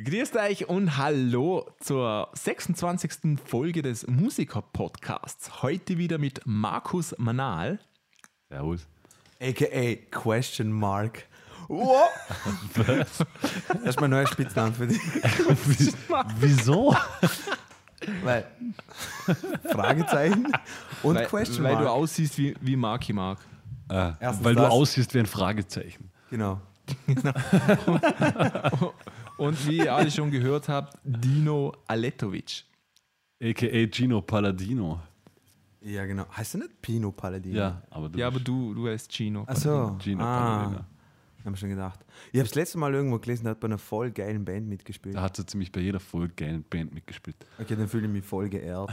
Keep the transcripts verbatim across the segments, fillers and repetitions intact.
Grüßt euch und hallo zur sechsundzwanzigsten Folge des Musiker-Podcasts. Heute wieder mit Markus Manal. Servus. A K A Question Mark. Wow. Das ist mein neuer Spitzname für dich. Wieso? Weil Fragezeichen und Weil, Question weil Mark. du aussiehst wie, wie Marky Mark. Äh, Erstens weil du das. aussiehst wie ein Fragezeichen. Genau. Und wie ihr alle schon gehört habt, Dino Aletovic. A K A Gino Palladino. Ja, genau. Heißt du nicht Pino Palladino? Ja, aber du Ja, aber bist du, du heißt Gino. Achso. Gino ah, Palladino. hab ich schon gedacht. Ich habe das letzte Mal irgendwo gelesen, der hat bei einer voll geilen Band mitgespielt. Da hat so ziemlich bei jeder voll geilen Band mitgespielt. Okay, dann fühle ich mich voll geehrt.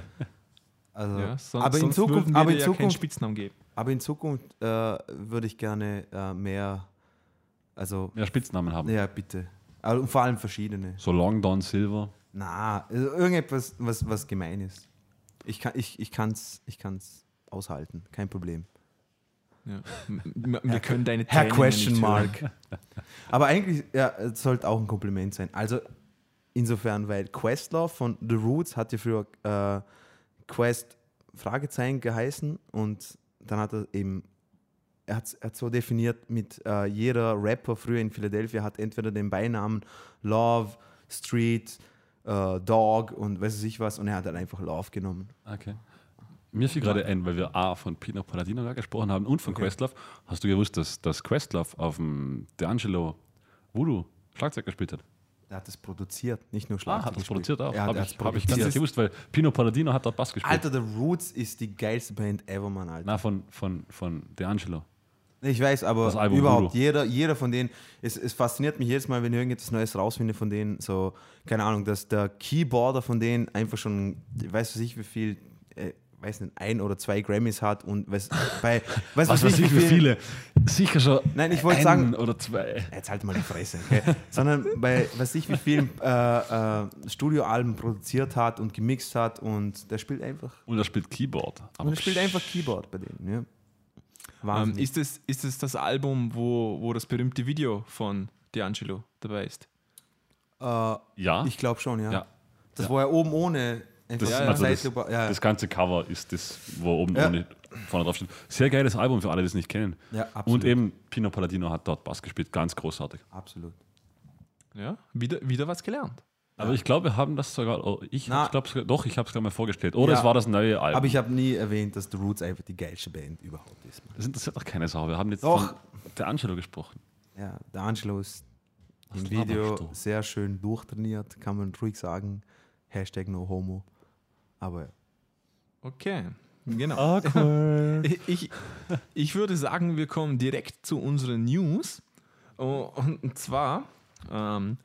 Also, Ja, son- aber in sonst Zukunft, würden wir aber dir in ja keinen Zukunft, Spitznamen geben. aber in Zukunft äh, würde ich gerne äh, mehr, also, Ja, Spitznamen haben. ja, bitte. Aber, und vor allem verschiedene. So Long Don Silver. Na, also irgendetwas, was, was gemein ist. Ich kann es ich, ich kann's, ich kann's aushalten, kein Problem. Ja. M- Wir können deine Herr Tränen Question nicht Mark. hören. Aber eigentlich ja, es sollte auch ein Kompliment sein. Also insofern, weil Questlove von The Roots hat ja früher äh, Quest Fragezeichen geheißen und dann hat er eben, er hat es so definiert mit äh, jeder Rapper früher in Philadelphia hat entweder den Beinamen Love, Street, äh, Dog und weiß ich was und er hat halt einfach Love genommen. Okay. Mir fiel gerade ein, weil wir A von Pino Palladino gesprochen haben und von Okay. Questlove. Hast du gewusst, dass, dass Questlove auf dem D'Angelo Voodoo Schlagzeug gespielt hat? Er hat es produziert, nicht nur Ah, Schlagzeug hat das gespielt. produziert auch. Er hat Habe es ich, hab ich gar produziert. nicht gewusst, weil Pino Palladino hat dort Bass gespielt. Alter, The Roots ist die geilste Band ever, Mann, Alter. Na, von, von, von D'Angelo. Ich weiß, aber Das Album überhaupt, Voodoo. jeder, jeder von denen, es, es fasziniert mich jedes Mal, wenn ich irgendetwas Neues rausfinde von denen, so, keine Ahnung, dass der Keyboarder von denen einfach schon, weiß was ich wie viel, äh, weiß nicht, ein oder zwei Grammys hat und weiß, bei, weiß Was weiß ich, wie viele? Sicher schon Nein, ich wollte einen sagen- oder zwei. Jetzt halt mal die Fresse, okay? Sondern bei, weiß ich wie vielen äh, äh, Studioalben produziert hat und gemixt hat und der spielt einfach, Und er spielt Keyboard. Aber und er spielt einfach Keyboard bei denen, ja. Ähm, Wahnsinn. ist, es, ist es das Album, wo, wo das berühmte Video von D'Angelo dabei ist? äh, Ja, ich glaube schon, ja. Ja. Das Ja. war ja oben ohne. Einfach das, Ja, so ja. also das, Zeitlupe- ja. das ganze Cover ist das, wo oben Ja. ohne vorne drauf steht. Sehr geiles Album für alle, die es nicht kennen. Ja, absolut. Und eben Pino Palladino hat dort Bass gespielt, ganz großartig. Absolut. Ja, wieder, wieder was gelernt. Aber ich glaube, wir haben das sogar, oh, ich Na. hab's, glaub, sogar- doch, ich habe es gerade mal vorgestellt. Oder Ja. es war das neue Album. Aber ich habe nie erwähnt, dass The Roots einfach die geilste Band überhaupt ist. das interessiert doch keine Sau. Wir haben jetzt Doch. von D'Angelo gesprochen. Ja, der Angelo ist Was im Video laberst du? sehr schön durchtrainiert, kann man ruhig sagen. Hashtag no homo. Aber ja. Okay, genau. Awkward. Ich, ich würde sagen, wir kommen direkt zu unseren News. Oh, Und zwar, ähm,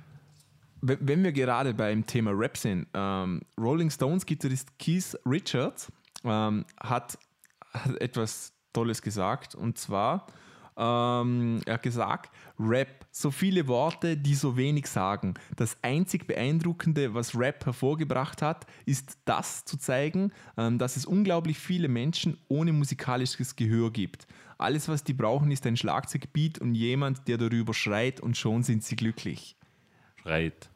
wenn wenn wir gerade beim Thema Rap sind, ähm, Rolling Stones Gitarrist Keith Richards ähm, hat, hat etwas Tolles gesagt. Und zwar, ähm, er hat gesagt, Rap, so viele Worte, die so wenig sagen. Das einzig Beeindruckende, was Rap hervorgebracht hat, ist das zu zeigen, ähm, dass es unglaublich viele Menschen ohne musikalisches Gehör gibt. Alles, was die brauchen, ist ein Schlagzeugbeat und jemand, der darüber schreit und schon sind sie glücklich. Schreit.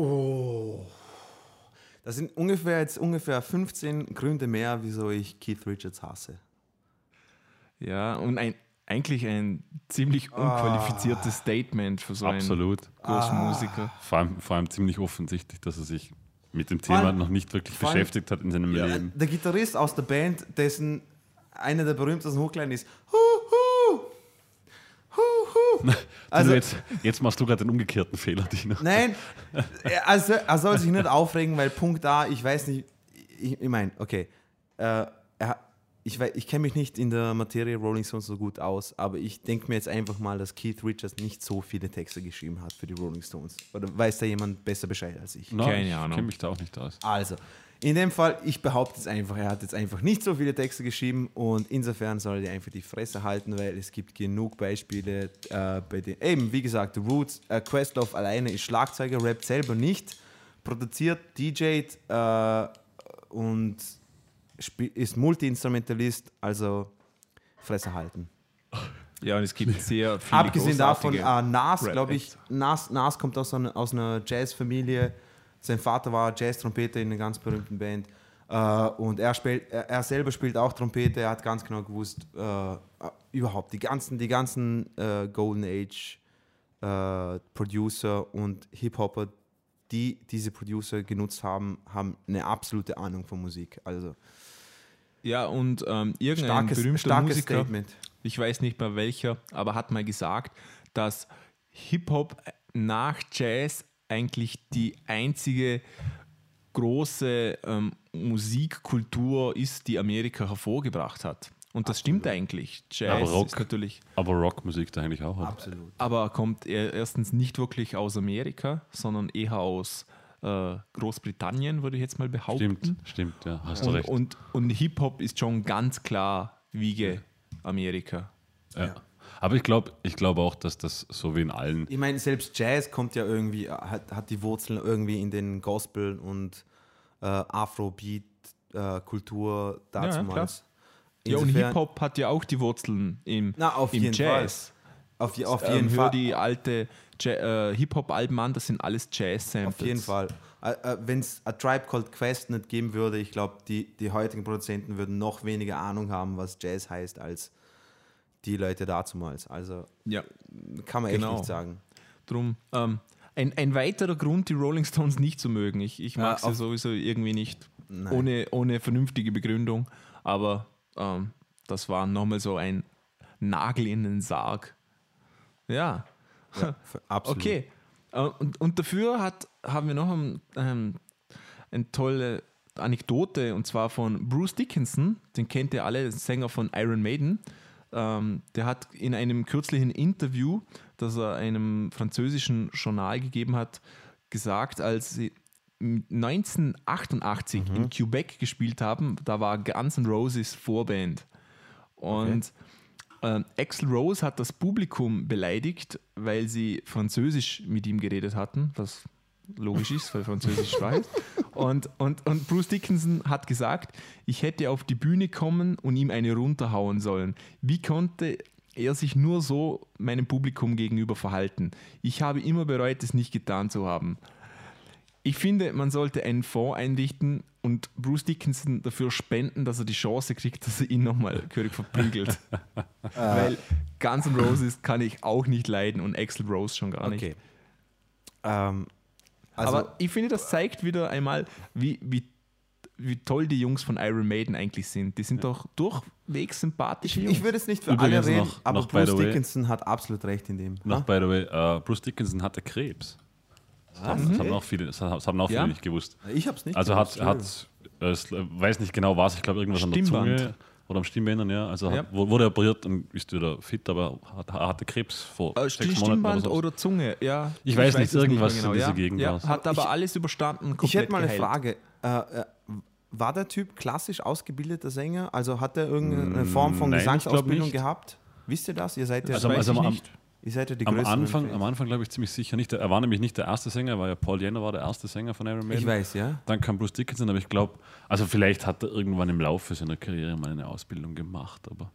Das sind ungefähr jetzt ungefähr fünfzehn Gründe mehr, wieso ich Keith Richards hasse. Ja, und ein, eigentlich ein ziemlich unqualifiziertes Statement für so einen Absolut. großen Musiker. Vor allem, vor allem ziemlich offensichtlich, dass er sich mit dem Vor Thema allem- noch nicht wirklich vor allem- beschäftigt hat in seinem Leben. Der Gitarrist aus der Band, dessen einer der berühmtesten Hochkleinen ist Hu, hu, hu, hu. Also Also, jetzt, jetzt machst du gerade den umgekehrten Fehler, Dino. nein, er, also, er soll sich nicht aufregen, weil Punkt A, ich weiß nicht, ich, ich meine, okay, äh, er, ich, wei- ich kenne mich nicht in der Materie Rolling Stones so gut aus, aber ich denke mir jetzt einfach mal, dass Keith Richards nicht so viele Texte geschrieben hat für die Rolling Stones. Oder weiß da jemand besser Bescheid als ich? No, Keine ich Ahnung. kenne mich da auch nicht aus. Also, in dem Fall, ich behaupte es einfach, er hat jetzt einfach nicht so viele Texte geschrieben und insofern soll er einfach die Fresse halten, weil es gibt genug Beispiele, äh, bei denen, eben, wie gesagt, The Roots, äh, Questlove alleine ist Schlagzeuger, rappt selber nicht, produziert, D Jt äh, und spiel, ist Multi-Instrumentalist, also Fresse halten. Ja, und es gibt sehr viele Abgesehen davon, großartige äh, Nas, glaube ich, Rap-Acts. Nas, Nas kommt aus einer, aus einer Jazzfamilie. Sein Vater war Jazz-Trompeter in einer ganz berühmten Band. Äh, und er, spielt, er, er selber spielt auch Trompete. Er hat ganz genau gewusst, äh, überhaupt die ganzen, die ganzen äh, Golden Age äh, Producer und Hip-Hopper, die diese Producer genutzt haben, haben eine absolute Ahnung von Musik. Also Ja, und ähm, irgendein starkes, berühmter starkes Musiker, Statement. ich weiß nicht mehr welcher, aber hat mal gesagt, dass Hip-Hop nach Jazz eigentlich die einzige große ähm, Musikkultur ist, die Amerika hervorgebracht hat. Und das stimmt eigentlich. Jazz Aber Rock. ist natürlich, Aber Rockmusik da eigentlich auch. Hat. Absolut. aber kommt er erstens nicht wirklich aus Amerika, sondern eher aus äh, Großbritannien, würde ich jetzt mal behaupten. Stimmt, stimmt, ja, hast du Und, recht. und, und Hip-Hop ist schon ganz klar Wiege Amerika. ja. Aber ich glaube ich glaub auch, dass das so wie in allen. Ich meine, selbst Jazz kommt ja irgendwie, hat, hat die Wurzeln irgendwie in den Gospel- und äh, Afrobeat-Kultur Ja, dazumals. Ja, und Insofern- Hip-Hop hat ja auch die Wurzeln im, Na, auf im jeden Jazz. Auf, je- auf Ähm, jeden hör Fall. die alte Ja- äh, Hip-Hop-Alben an, das sind alles Jazz-Samples. Auf jeden Fall. Äh, äh, Wenn es A Tribe Called Quest nicht geben würde, ich glaube, die, die heutigen Produzenten würden noch weniger Ahnung haben, was Jazz heißt, als die Leute dazumals. Also Ja, kann man Genau. echt nicht sagen. drum. Ähm, ein, ein weiterer Grund, die Rolling Stones nicht zu mögen. Ich, ich mag Ja, sie auf- sowieso irgendwie nicht, Nein. ohne, ohne vernünftige Begründung. Aber ähm, das war nochmal so ein Nagel in den Sarg. Ja. Ja, f- absolut. Okay. Äh, Und, und dafür hat, haben wir noch ein, ähm, eine tolle Anekdote, und zwar von Bruce Dickinson, den kennt ihr alle, Sänger von Iron Maiden. Ähm, der hat in einem kürzlichen Interview, das er einem französischen Journal gegeben hat, gesagt, als sie neunzehnhundertachtundachtzig in Quebec gespielt haben, da war Guns N' Roses Vorband. Und ähm, Axl Rose hat das Publikum beleidigt, weil sie Französisch mit ihm geredet hatten, was logisch ist, weil Französisch Sprache ist. Und, und, und Bruce Dickinson hat gesagt, ich hätte auf die Bühne kommen und ihm eine runterhauen sollen. Wie konnte er sich nur so meinem Publikum gegenüber verhalten? Ich habe immer bereut, es nicht getan zu haben. Ich finde, man sollte einen Fonds einrichten und Bruce Dickinson dafür spenden, dass er die Chance kriegt, dass er ihn nochmal gehörig verprügelt. Weil Guns N' Roses kann ich auch nicht leiden und Axl Rose schon gar nicht. Okay. Ähm, also, Aber ich finde, das zeigt wieder einmal, wie, wie, wie toll die Jungs von Iron Maiden eigentlich sind. Die sind doch durchwegs sympathische Jungs. ich würde es nicht für Übrigens alle reden, noch- aber noch by Bruce the way- Dickinson hat absolut recht in dem. Noch Ha? by the way, äh, Bruce Dickinson hatte Krebs. Das, haben, das haben auch viele, das haben das haben auch viele Ja? nicht gewusst. Ich habe es nicht Also hat, gewusst, hat äh, es, äh, weiß nicht genau was, ich glaube irgendwas an der Stimmband. Zunge oder am Stimmbändern, ja. Also Ja. Hat, wu- wurde operiert und ist wieder fit, aber hat, hatte Krebs vor Äh, sechs Monaten Stimmband oder so. oder Zunge, ja. Ich weiß nicht, es mehr irgendwas in dieser Gegend ja. war's. Hat aber Ich- alles überstanden. Ich komplett hätte mal eine geheilt. Frage. Äh, äh, war der Typ klassisch ausgebildeter Sänger? Also hat er irgendeine Form von Nein, ich glaub Gesangsausbildung nicht. gehabt? Wisst ihr das? Ihr seid ja, Also, weiß also ich am, nicht. ihr seid ja die am größeren Anfang, Fans. am Anfang glaube ich ziemlich sicher nicht. Er war nämlich nicht der erste Sänger, weil ja Paul Jenner war der erste Sänger von Iron Maiden. Ich weiß, ja. Dann kam Bruce Dickinson, aber ich glaube, also vielleicht hat er irgendwann im Laufe seiner Karriere mal eine Ausbildung gemacht, aber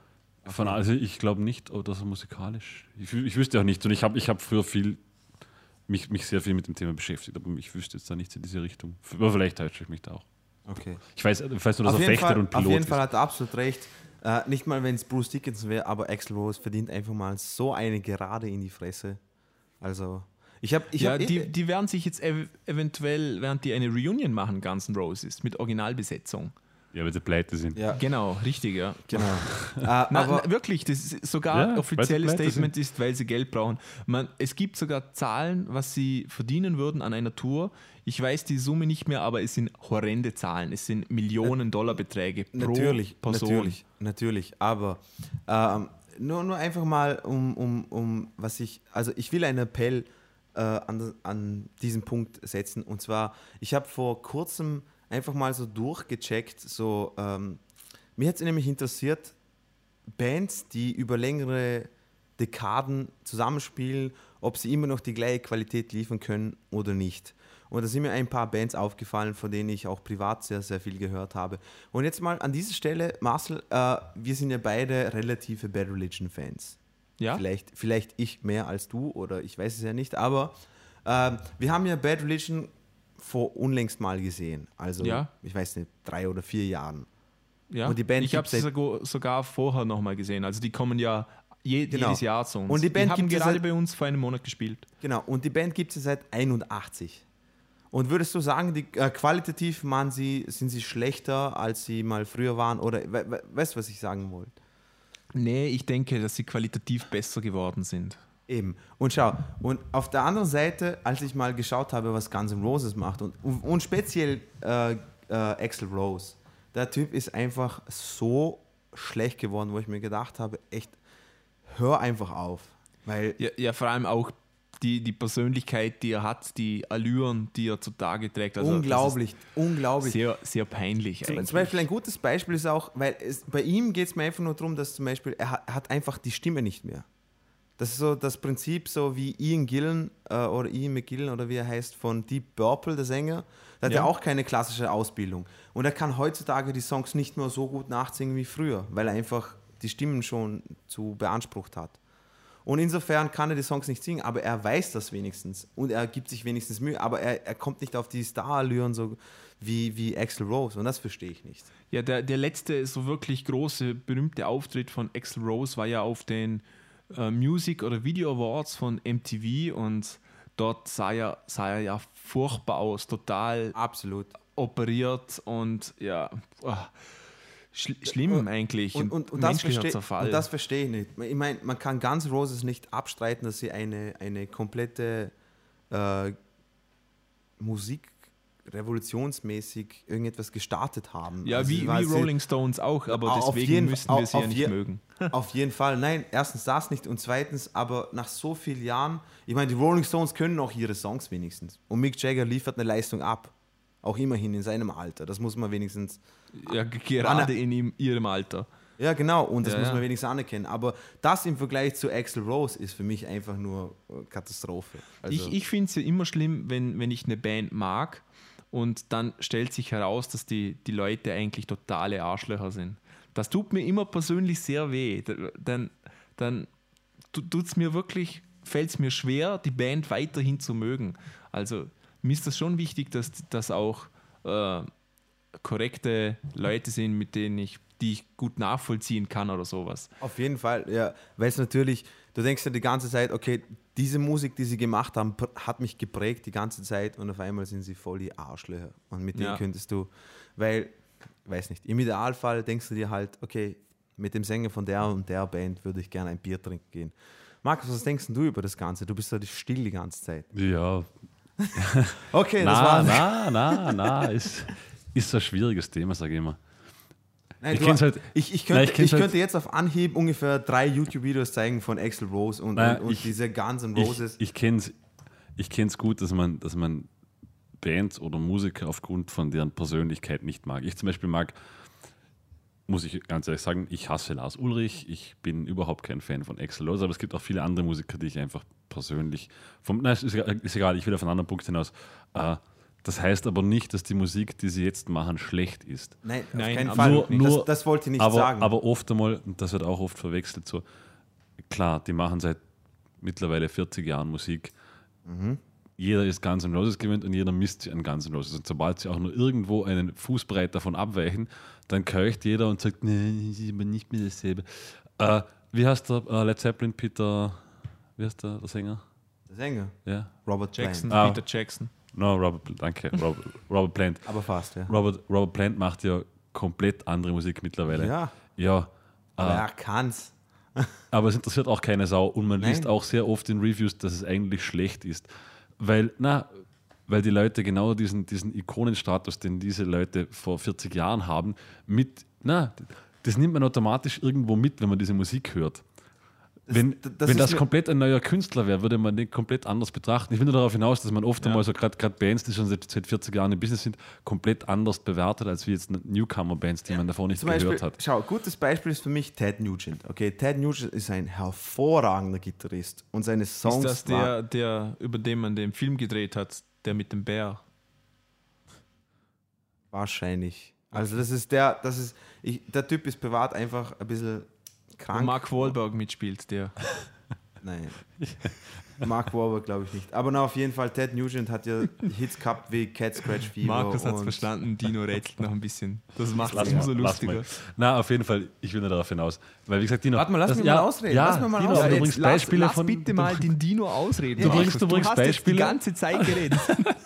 von, also ich glaube nicht, oh, dass er musikalisch. Ich, wü- ich wüsste auch nicht. Und ich habe ich hab früher viel mich, mich sehr viel mit dem Thema beschäftigt, aber ich wüsste jetzt da nichts in diese Richtung. Aber vielleicht täusche ich mich da auch. Okay. Ich weiß, ich weiß nur, dass Auf er jeden, Fechter Fall, und auf Pilot jeden Fall ist. hat er absolut recht. Äh, nicht mal, wenn es Bruce Dickinson wäre, aber Axl Rose verdient einfach mal so eine Gerade in die Fresse. Also, ich habe. Ich Ja, hab die, die werden sich jetzt ev eventuell, während die eine Reunion machen, Guns N' Roses, mit Originalbesetzung. Ja, weil sie pleite sind. ja, Genau, richtig, ja. genau. äh, Na, aber na, wirklich, das ist sogar Ja, weil sie offizielles pleite Statement ist, weil sie Geld brauchen. Man, es gibt sogar Zahlen, was sie verdienen würden an einer Tour. Ich weiß die Summe nicht mehr, aber es sind horrende Zahlen. Es sind Millionen Dollar Beträge pro natürlich, Person. natürlich, natürlich. Aber ähm, nur, nur einfach mal um, um, um was ich, also ich will einen Appell äh, an, an diesen Punkt setzen. Und zwar, ich habe vor kurzem einfach mal so durchgecheckt, so, ähm, mir hat es nämlich interessiert, Bands, die über längere Dekaden zusammenspielen, ob sie immer noch die gleiche Qualität liefern können oder nicht. Und da sind mir ein paar Bands aufgefallen, von denen ich auch privat sehr, sehr viel gehört habe. Und jetzt mal an dieser Stelle, Marcel, äh, wir sind ja beide relative Bad Religion-Fans. Ja? Vielleicht, vielleicht ich mehr als du oder ich weiß es ja nicht, aber äh, wir haben ja Bad Religion vor unlängst mal gesehen. Also, Ja. ich weiß nicht, drei oder vier Jahren. Ja? Und die Band ich habe gibt's sie seit- sogar, sogar vorher nochmal gesehen. Also die kommen ja je, Genau. jedes Jahr zu uns. Und die Band haben gibt es gerade seit- bei uns vor einem Monat gespielt. Genau, und die Band gibt es seit einundachtzig. Und würdest du sagen, die, äh, qualitativ waren sie, sind sie schlechter, als sie mal früher waren? Oder we, we, weißt du, was ich sagen wollte? Nee, ich denke, dass sie qualitativ besser geworden sind. Eben. Und schau, und auf der anderen Seite, als ich mal geschaut habe, was Guns N' Roses macht, und, und speziell äh, äh, Axl Rose, der Typ ist einfach so schlecht geworden, wo ich mir gedacht habe, echt, hör einfach auf. Weil Ja, ja vor allem auch die, die Persönlichkeit, die er hat, die Allüren, die er zutage trägt. Also unglaublich, das unglaublich. ist sehr, sehr peinlich Zum, eigentlich. zum Beispiel ein gutes Beispiel ist auch, weil es, bei ihm geht es mir einfach nur darum, dass zum Beispiel, er hat, hat einfach die Stimme nicht mehr. Das ist so das Prinzip, so wie Ian Gillan äh, oder Ian McGillan oder wie er heißt, von Deep Purple, der Sänger. Der hat ja Ja. auch keine klassische Ausbildung. Und er kann heutzutage die Songs nicht mehr so gut nachsingen wie früher, weil er einfach die Stimmen schon zu beansprucht hat. Und insofern kann er die Songs nicht singen, aber er weiß das wenigstens und er gibt sich wenigstens Mühe, aber er, er kommt nicht auf die Star-Allüren so wie, wie Axl Rose und das verstehe ich nicht. Ja, der, der letzte so wirklich große, berühmte Auftritt von Axl Rose war ja auf den äh, Music- oder Video Awards von M T V und dort sah er, sah er ja furchtbar aus, total Absolut. operiert und ja, oh, schl schlimm eigentlich. Und, und, und, das menschlicher versteh, Zerfall. und das verstehe ich nicht. Ich meine, man kann Guns N' Roses nicht abstreiten, dass sie eine, eine komplette äh, Musik revolutionsmäßig irgendetwas gestartet haben. ja, Also wie, sie wie war- sie- Rolling Stones auch, aber Auf deswegen jeden- müssen wir auf- sie ja auf nicht je- mögen. Auf jeden Fall. Nein, erstens das nicht und zweitens, aber nach so vielen Jahren, ich meine, die Rolling Stones können auch ihre Songs wenigstens. Und Mick Jagger liefert eine Leistung ab. Auch immerhin in seinem Alter. Das muss man wenigstens. Ja, g- gerade in ihm, ihrem Alter. Ja, genau, und das Ja, muss man ja. wenigstens anerkennen. Aber das im Vergleich zu Axl Rose ist für mich einfach nur äh, Katastrophe. Also, Ich, ich finde es ja immer schlimm, wenn, wenn ich eine Band mag und dann stellt sich heraus, dass die, die Leute eigentlich totale Arschlöcher sind. Das tut mir immer persönlich sehr weh. Da- Dann, dann tut es mir wirklich, fällt es mir schwer, die Band weiterhin zu mögen. Also mir ist das schon wichtig, dass das auch äh, korrekte Leute sind, mit denen ich, die ich gut nachvollziehen kann oder sowas. auf jeden Fall, ja, weil es natürlich, du denkst ja die ganze Zeit, okay, diese Musik, die sie gemacht haben, pr- hat mich geprägt die ganze Zeit und auf einmal sind sie voll die Arschlöcher. Und mit denen Ja. könntest du, weil, weiß nicht, im Idealfall denkst du dir halt, okay, mit dem Sänger von der und der Band würde ich gerne ein Bier trinken gehen. Markus, was denkst denn du über das Ganze? Du bist da still die ganze Zeit. Ja, Okay, das na, war's. na, na, na, ist, ist ein schwieriges Thema, sage ich immer. Nein, Ich du- kenn's halt- ich, ich, Nein, könnte, ich ich, kenn's halt- könnte jetzt auf Anhieb ungefähr drei YouTube-Videos zeigen von Axl Rose und, Nein, und, und ich- diese Guns N' Ich, Roses. ich kenne es ich kenn's gut, dass man, dass man Bands oder Musiker aufgrund von deren Persönlichkeit nicht mag. Ich zum Beispiel mag, muss ich ganz ehrlich sagen, ich hasse Lars Ulrich, ich bin überhaupt kein Fan von Axl Rose, aber es gibt auch viele andere Musiker, die ich einfach persönlich, vom, nein, ist, ist egal, ich will auf einen anderen Punkt hinaus. Äh, das heißt aber nicht, dass die Musik, die sie jetzt machen, schlecht ist. Nein, auf Nein, keinen absolut Fall. nicht. das, Nur- das wollte ich nicht aber, sagen. aber oft einmal, und das wird auch oft verwechselt, so, klar, die machen seit mittlerweile vierzig Jahren Musik. Jeder ist Guns N' Roses gewöhnt und jeder misst sich an Guns N' Roses. Und sobald sie auch nur irgendwo einen Fußbreit davon abweichen, dann keucht jeder und sagt, nee, ist aber nicht mehr dasselbe. Äh, wie heißt der äh, Led Zeppelin, Peter, wie heißt der, der Sänger? der Sänger, Ja? Robert Jackson, Plant. Ah. Peter Jackson. No, Robert, danke, Robert, Robert Plant. Aber fast, ja. Robert, Robert Plant macht ja komplett andere Musik mittlerweile. Ja, Ja, aber äh, er kann's. aber es interessiert auch keine Sau und man Nein. liest auch sehr oft in Reviews, dass es eigentlich schlecht ist. Weil, na, weil die Leute genau diesen, diesen Ikonenstatus, den diese Leute vor vierzig Jahren haben, mit, na, das nimmt man automatisch irgendwo mit, wenn man diese Musik hört. Wenn das das, wenn ist das mir- komplett ein neuer Künstler wäre, würde man den komplett anders betrachten. Ich will nur darauf hinaus, dass man oft Ja. einmal so gerade Bands, die schon seit, seit vierzig Jahren im Business sind, komplett anders bewertet, als wie jetzt Newcomer-Bands, die man davor nicht Zum gehört Beispiel, hat. schau, gutes Beispiel ist für mich Ted Nugent. Okay, Ted Nugent ist ein hervorragender Gitarrist und seine Songs Ist das waren- der, der, über den man den Film gedreht hat, der mit dem Bär. Wahrscheinlich. Also das ist der, das ist, ich, der Typ ist privat einfach ein bisschen Wo krank. Mark Wahlberg mitspielt, der. Nein. Mark Wahlberg glaube ich nicht. Aber na, auf jeden Fall, Ted Nugent hat ja Hits gehabt wie Cat Scratch Fever. Markus hat es und- verstanden, Dino rätselt noch ein bisschen. Das macht es Lass umso mal, lass lustiger. mal. Na, auf jeden Fall, ich will nur darauf hinaus. Weil, wie gesagt, Dino. Warte mal, lass das, mich ja, mal ausreden. Ja, Lass mich mal Dino, ausreden. aber du Jetzt bringst lass, Beispiele lass von. bitte mal den Dino ausreden. Du bringst- Markus. du bringst hast jetzt Beispiele. die ganze Zeit geredet.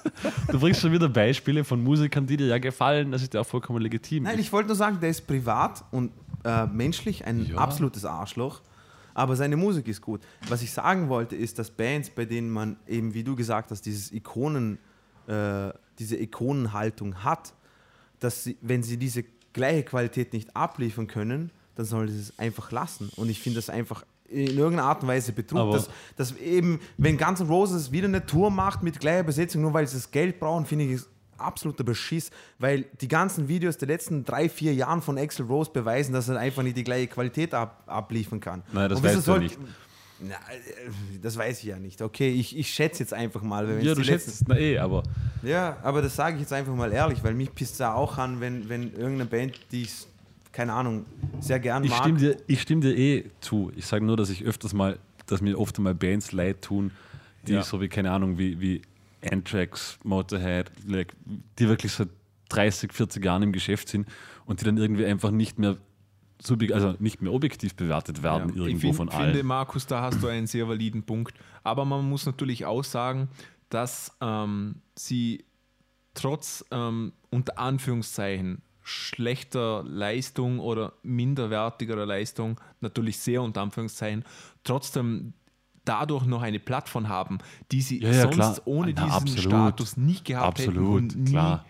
Du bringst schon wieder Beispiele von Musikern, die dir ja gefallen. Das ist ja auch vollkommen legitim. Nein, ich wollte nur sagen, der ist privat und äh, menschlich ein Ja. absolutes Arschloch, aber seine Musik ist gut. Was ich sagen wollte, ist, dass Bands, bei denen man eben, wie du gesagt hast, dieses Ikonen, äh, diese Ikonenhaltung hat, dass sie, wenn sie diese gleiche Qualität nicht abliefern können, dann sollen sie es einfach lassen. Und ich finde das einfach in irgendeiner Art und Weise Betrug, Aber- dass, dass eben, wenn Guns N' Roses wieder eine Tour macht mit gleicher Besetzung, nur weil sie das Geld brauchen, finde ich es absoluter Beschiss, weil die ganzen Videos der letzten drei, vier Jahren von Axl Rose beweisen, dass er einfach nicht die gleiche Qualität ab, abliefern kann. Nein, das Und wieso weißt du ja soll- nicht. Na, äh, das weiß ich ja nicht. Okay, ich, ich schätze jetzt einfach mal. Weil wenn Ja, es du die schätzt letzten- es, na eh, aber Ja, aber das sage ich jetzt einfach mal ehrlich, weil mich pisst es auch an, wenn, wenn irgendeine Band, die ich, keine Ahnung, sehr gern ich mag. stimme, dir, ich stimme dir eh zu. Ich sage nur, dass ich öfters mal, dass mir oft mal Bands leid tun, die Ja. so wie, keine Ahnung, wie, wie Anthrax, Motorhead, like, die wirklich seit dreißig, vierzig Jahren im Geschäft sind und die dann irgendwie einfach nicht mehr subjek- also nicht mehr objektiv bewertet werden Ja, irgendwo ich von find, allen. finde, Markus, da hast du einen sehr validen Punkt. Aber man muss natürlich auch sagen, dass ähm, sie trotz ähm, unter Anführungszeichen schlechter Leistung oder minderwertigerer Leistung, natürlich sehr unter Anführungszeichen, trotzdem dadurch noch eine Plattform haben, die sie Ja, ja, sonst klar. ohne Ja, diesen absolut. Status nicht gehabt hätten Absolut, und nie, klar.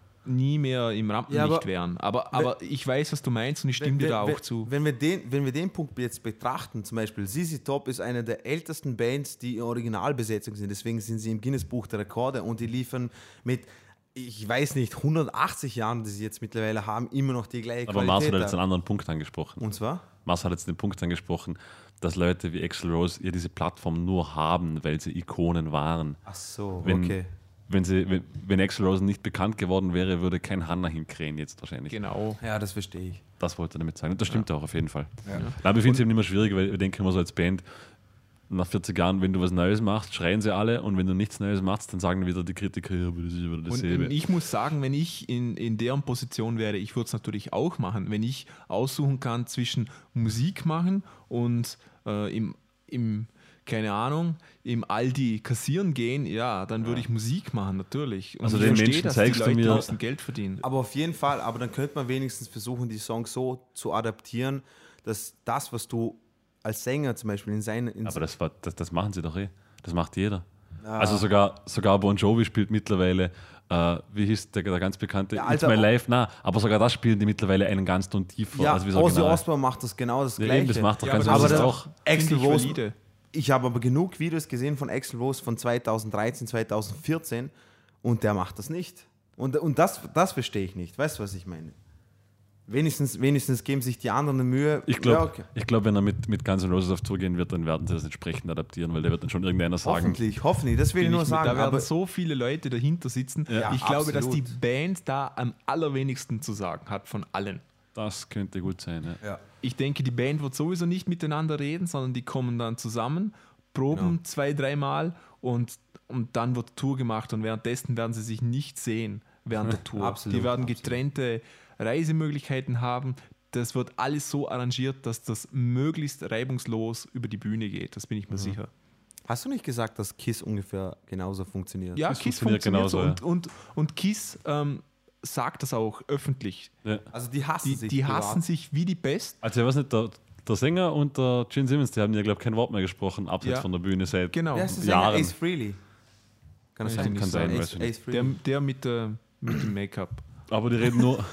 nie mehr im Rampenlicht Ja, aber- wären. Aber, aber ich weiß, was du meinst und ich stimme dir da auch wenn, zu. Wenn wir, den, wenn wir den Punkt jetzt betrachten, zum Beispiel Z Z Top ist eine der ältesten Bands, die in Originalbesetzung sind, deswegen sind sie im Guinness-Buch der Rekorde und die liefern mit, ich weiß nicht, hundertachtzig Jahren, die sie jetzt mittlerweile haben, immer noch die gleiche Aber Mars hat Qualität. jetzt einen anderen Punkt angesprochen. Und zwar? Mars hat jetzt den Punkt angesprochen, dass Leute wie Axl Rose ja diese Plattform nur haben, weil sie Ikonen waren. Ach so, Wenn, okay. wenn, sie, wenn, wenn Axl Rose nicht bekannt geworden wäre, würde kein Hanna hinkrähen jetzt wahrscheinlich. Genau. Ja, das verstehe ich. Das wollte er damit sagen. Und das stimmt auch auf jeden Fall. Ja. Nein, aber ich finde es eben immer schwierig, weil ich denke immer so als Band, nach vierzig Jahren, wenn du was Neues machst, schreien sie alle und wenn du nichts Neues machst, dann sagen wieder die Kritiker, ja, aber das ist wieder Und, dasselbe. und ich muss sagen, wenn ich in, in deren Position wäre, ich würde es natürlich auch machen. Wenn ich aussuchen kann zwischen Musik machen und äh, im, im, keine Ahnung, im Aldi kassieren gehen, ja, dann würde ich Musik machen, natürlich. Und Also ich den verstehe, Menschen dass zeigst die du Leute mir- müssen Geld verdienen. Aber auf jeden Fall, aber dann könnte man wenigstens versuchen, die Songs so zu adaptieren, dass das, was du als Sänger zum Beispiel in seinen... In Aber das, war, das, das machen sie doch eh. Das macht jeder. Also sogar, sogar Bon Jovi spielt mittlerweile, äh, wie hieß der, der ganz bekannte, Ja, It's Alter, My oh- Life, na, aber sogar das spielen die mittlerweile einen ganz Ton tiefer. ja, als wie das Ozzy Original. Osbourne macht das genau das Ja, Gleiche. eben, das macht doch Ja, ganz aber aber das das- auch. Axl Finde ich Rose, valide. ich habe aber genug Videos gesehen von Axl Rose von zweitausenddreizehn, zweitausendvierzehn und der macht das nicht. Und, und das, das verstehe ich nicht. Weißt du, was ich meine? Wenigstens, wenigstens geben sich die anderen eine Mühe. Ich glaube, ja, okay. ich glaub, wenn er mit, mit Guns N' Roses auf Tour gehen wird, dann werden sie das entsprechend adaptieren, weil der wird dann schon irgendeiner sagen, Hoffentlich, hoffentlich, das will ich Bin nur ich mit- sagen. da werden Aber so viele Leute dahinter sitzen. Ja, ich glaube, dass die absolut. Band da am allerwenigsten zu sagen hat von allen. das könnte gut sein. Ja. ja. Ich denke, die Band wird sowieso nicht miteinander reden, sondern die kommen dann zusammen, proben Genau. zwei, dreimal und, und dann wird Tour gemacht und währenddessen werden sie sich nicht sehen während der Tour. Absolut, die werden absolut. getrennte Reisemöglichkeiten haben. Das wird alles so arrangiert, dass das möglichst reibungslos über die Bühne geht. Das bin ich mir Mhm. sicher. Hast du nicht gesagt, dass KISS ungefähr genauso funktioniert? Ja, Das Kiss funktioniert funktioniert so. genauso, Und, und, und Kiss ähm, sagt das auch öffentlich. Ja. Also die hassen Die, sich. die privat. hassen sich wie die Pest. Also ich weiß nicht, der, der Sänger und der Gene Simmons, die haben ja, glaube ich, kein Wort mehr gesprochen, abseits Ja. von der Bühne seit Genau. Wer ist der Sänger? Jahren. Ace Frehley. Kann das Weiß sein? ich Kann nicht sein, sagen. weiß Ace, ich nicht. Ace Der, Frehley. der mit, der, mit dem Make-up. Aber die reden nur,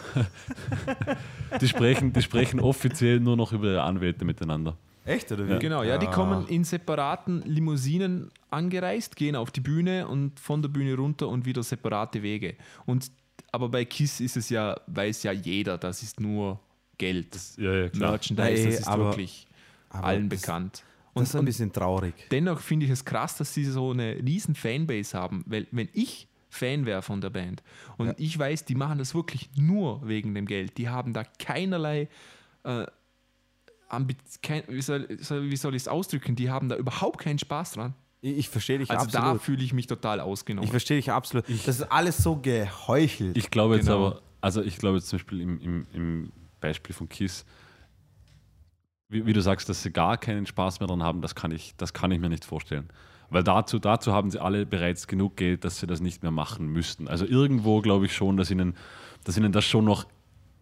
die, sprechen, die sprechen offiziell nur noch über ihre Anwälte miteinander. Echt, oder wie? Ja. Genau, ja, die Ah. kommen in separaten Limousinen angereist, gehen auf die Bühne und von der Bühne runter und wieder separate Wege. Und, aber bei KISS ist es ja, weiß ja jeder, das ist nur Geld. Ja, ja, klar. Merchandise, Nee, das ist aber- wirklich aber allen das- bekannt. Das ist ein Und, und bisschen traurig. dennoch finde ich es krass, dass sie so eine riesen Fanbase haben, weil wenn ich Fan wäre von der Band. Und Ja. ich weiß, die machen das wirklich nur wegen dem Geld. Die haben da keinerlei, äh, Ambi- kein, wie soll, soll- wie soll ich es ausdrücken, die haben da überhaupt keinen Spaß dran. Ich, ich verstehe dich Also da absolut. fühle ich mich total ausgenommen. Ich verstehe dich absolut. Das ist alles so geheuchelt. Ich glaube jetzt Genau. aber, also ich glaube jetzt zum Beispiel im, im, im Beispiel von Kiss, wie, wie du sagst, dass sie gar keinen Spaß mehr dran haben, das kann ich, das kann ich mir nicht vorstellen. Weil dazu, dazu haben sie alle bereits genug Geld, dass sie das nicht mehr machen müssten. Also irgendwo glaube ich schon, dass ihnen, dass ihnen das schon noch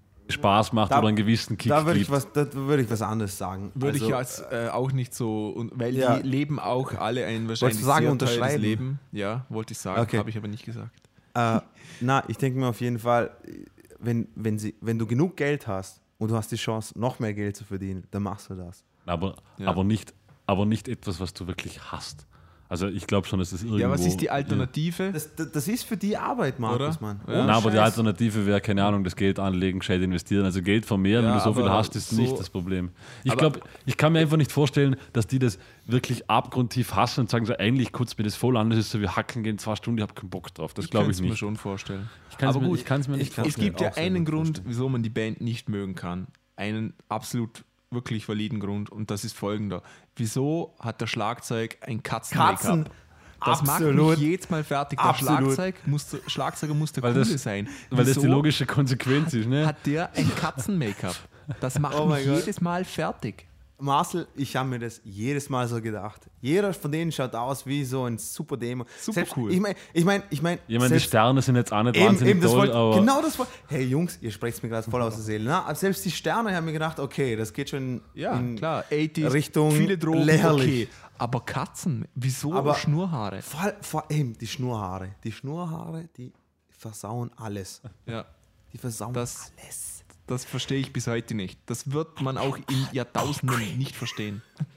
Spaß macht Da- oder einen gewissen Kick da würde ich, gibt. was- da würde ich was anderes sagen. Würde Also, ich als äh, auch nicht so, und, weil Ja. die leben auch alle ein wahrscheinlich du sagen, sehr teures unterschreiben? Leben. Ja, wollte ich sagen, Okay. habe ich aber nicht gesagt. Äh, na, ich denke mir auf jeden Fall, wenn, wenn, sie, wenn du genug Geld hast und du hast die Chance, noch mehr Geld zu verdienen, dann machst du das. Aber, Ja. aber, nicht, aber nicht etwas, was du wirklich hast. Also ich glaube schon, dass es irgendwo... Ja, was ist die Alternative? Das, das, das ist für die Arbeit, Markus, Oder? Mann. Ja. Ohne Na, aber die Scheiß. Alternative wäre, keine Ahnung, das Geld anlegen, gescheit investieren. Also Geld vermehren, Ja, wenn du so viel aber hast, ist so- nicht das Problem. Ich aber- glaube, ich kann mir einfach nicht vorstellen, dass die das wirklich abgrundtief hassen und sagen so, eigentlich kotzt mir das voll an, das ist so wie Hacken gehen zwei Stunden, ich habe keinen Bock drauf. Das glaube könnte ich es mir nicht. schon vorstellen. Ich kann's aber mir, gut, ich kann es mir nicht ich kann's Es vorstellen. gibt mir ja auch sehr einen gut Grund, vorstellen. wieso man die Band nicht mögen kann. Einen absolut wirklich validen Grund, und das ist folgender. Wieso hat der Schlagzeug ein Katzen-Make-up? Katzen, Das absolut. macht mich jedes Mal fertig. Der Absolut. Schlagzeug muss, der Schlagzeuger muss der Weil Coole das- sein. Weil das die Wieso logische Konsequenz ist, ne? hat der ein Katzen-Make-up? Das macht Oh mein mich Gott. jedes Mal fertig. Marcel, ich habe mir das jedes Mal so gedacht. Jeder von denen schaut aus wie so ein super Demo. Super Selbst, cool. Ich meine, ich meine, ich meine, Ich meine, die Sterne sind jetzt auch nicht Eben, wahnsinnig eben, das toll, wollt, aber genau das wollt. Hey Jungs, ihr sprecht mir gerade voll aus der Seele. Na, aber selbst die Sterne haben mir gedacht, okay, das geht schon Ja, in klar. achtziger, Richtung viele Drogen, lächerlich. okay. Aber Katzen, wieso Aber- Schnurrhaare? Vor, vor allem die Schnurrhaare. Die Schnurrhaare, die versauen alles. Ja, Die versauen Das- alles. das verstehe ich bis heute nicht. Das wird man auch in Jahrtausenden nicht verstehen.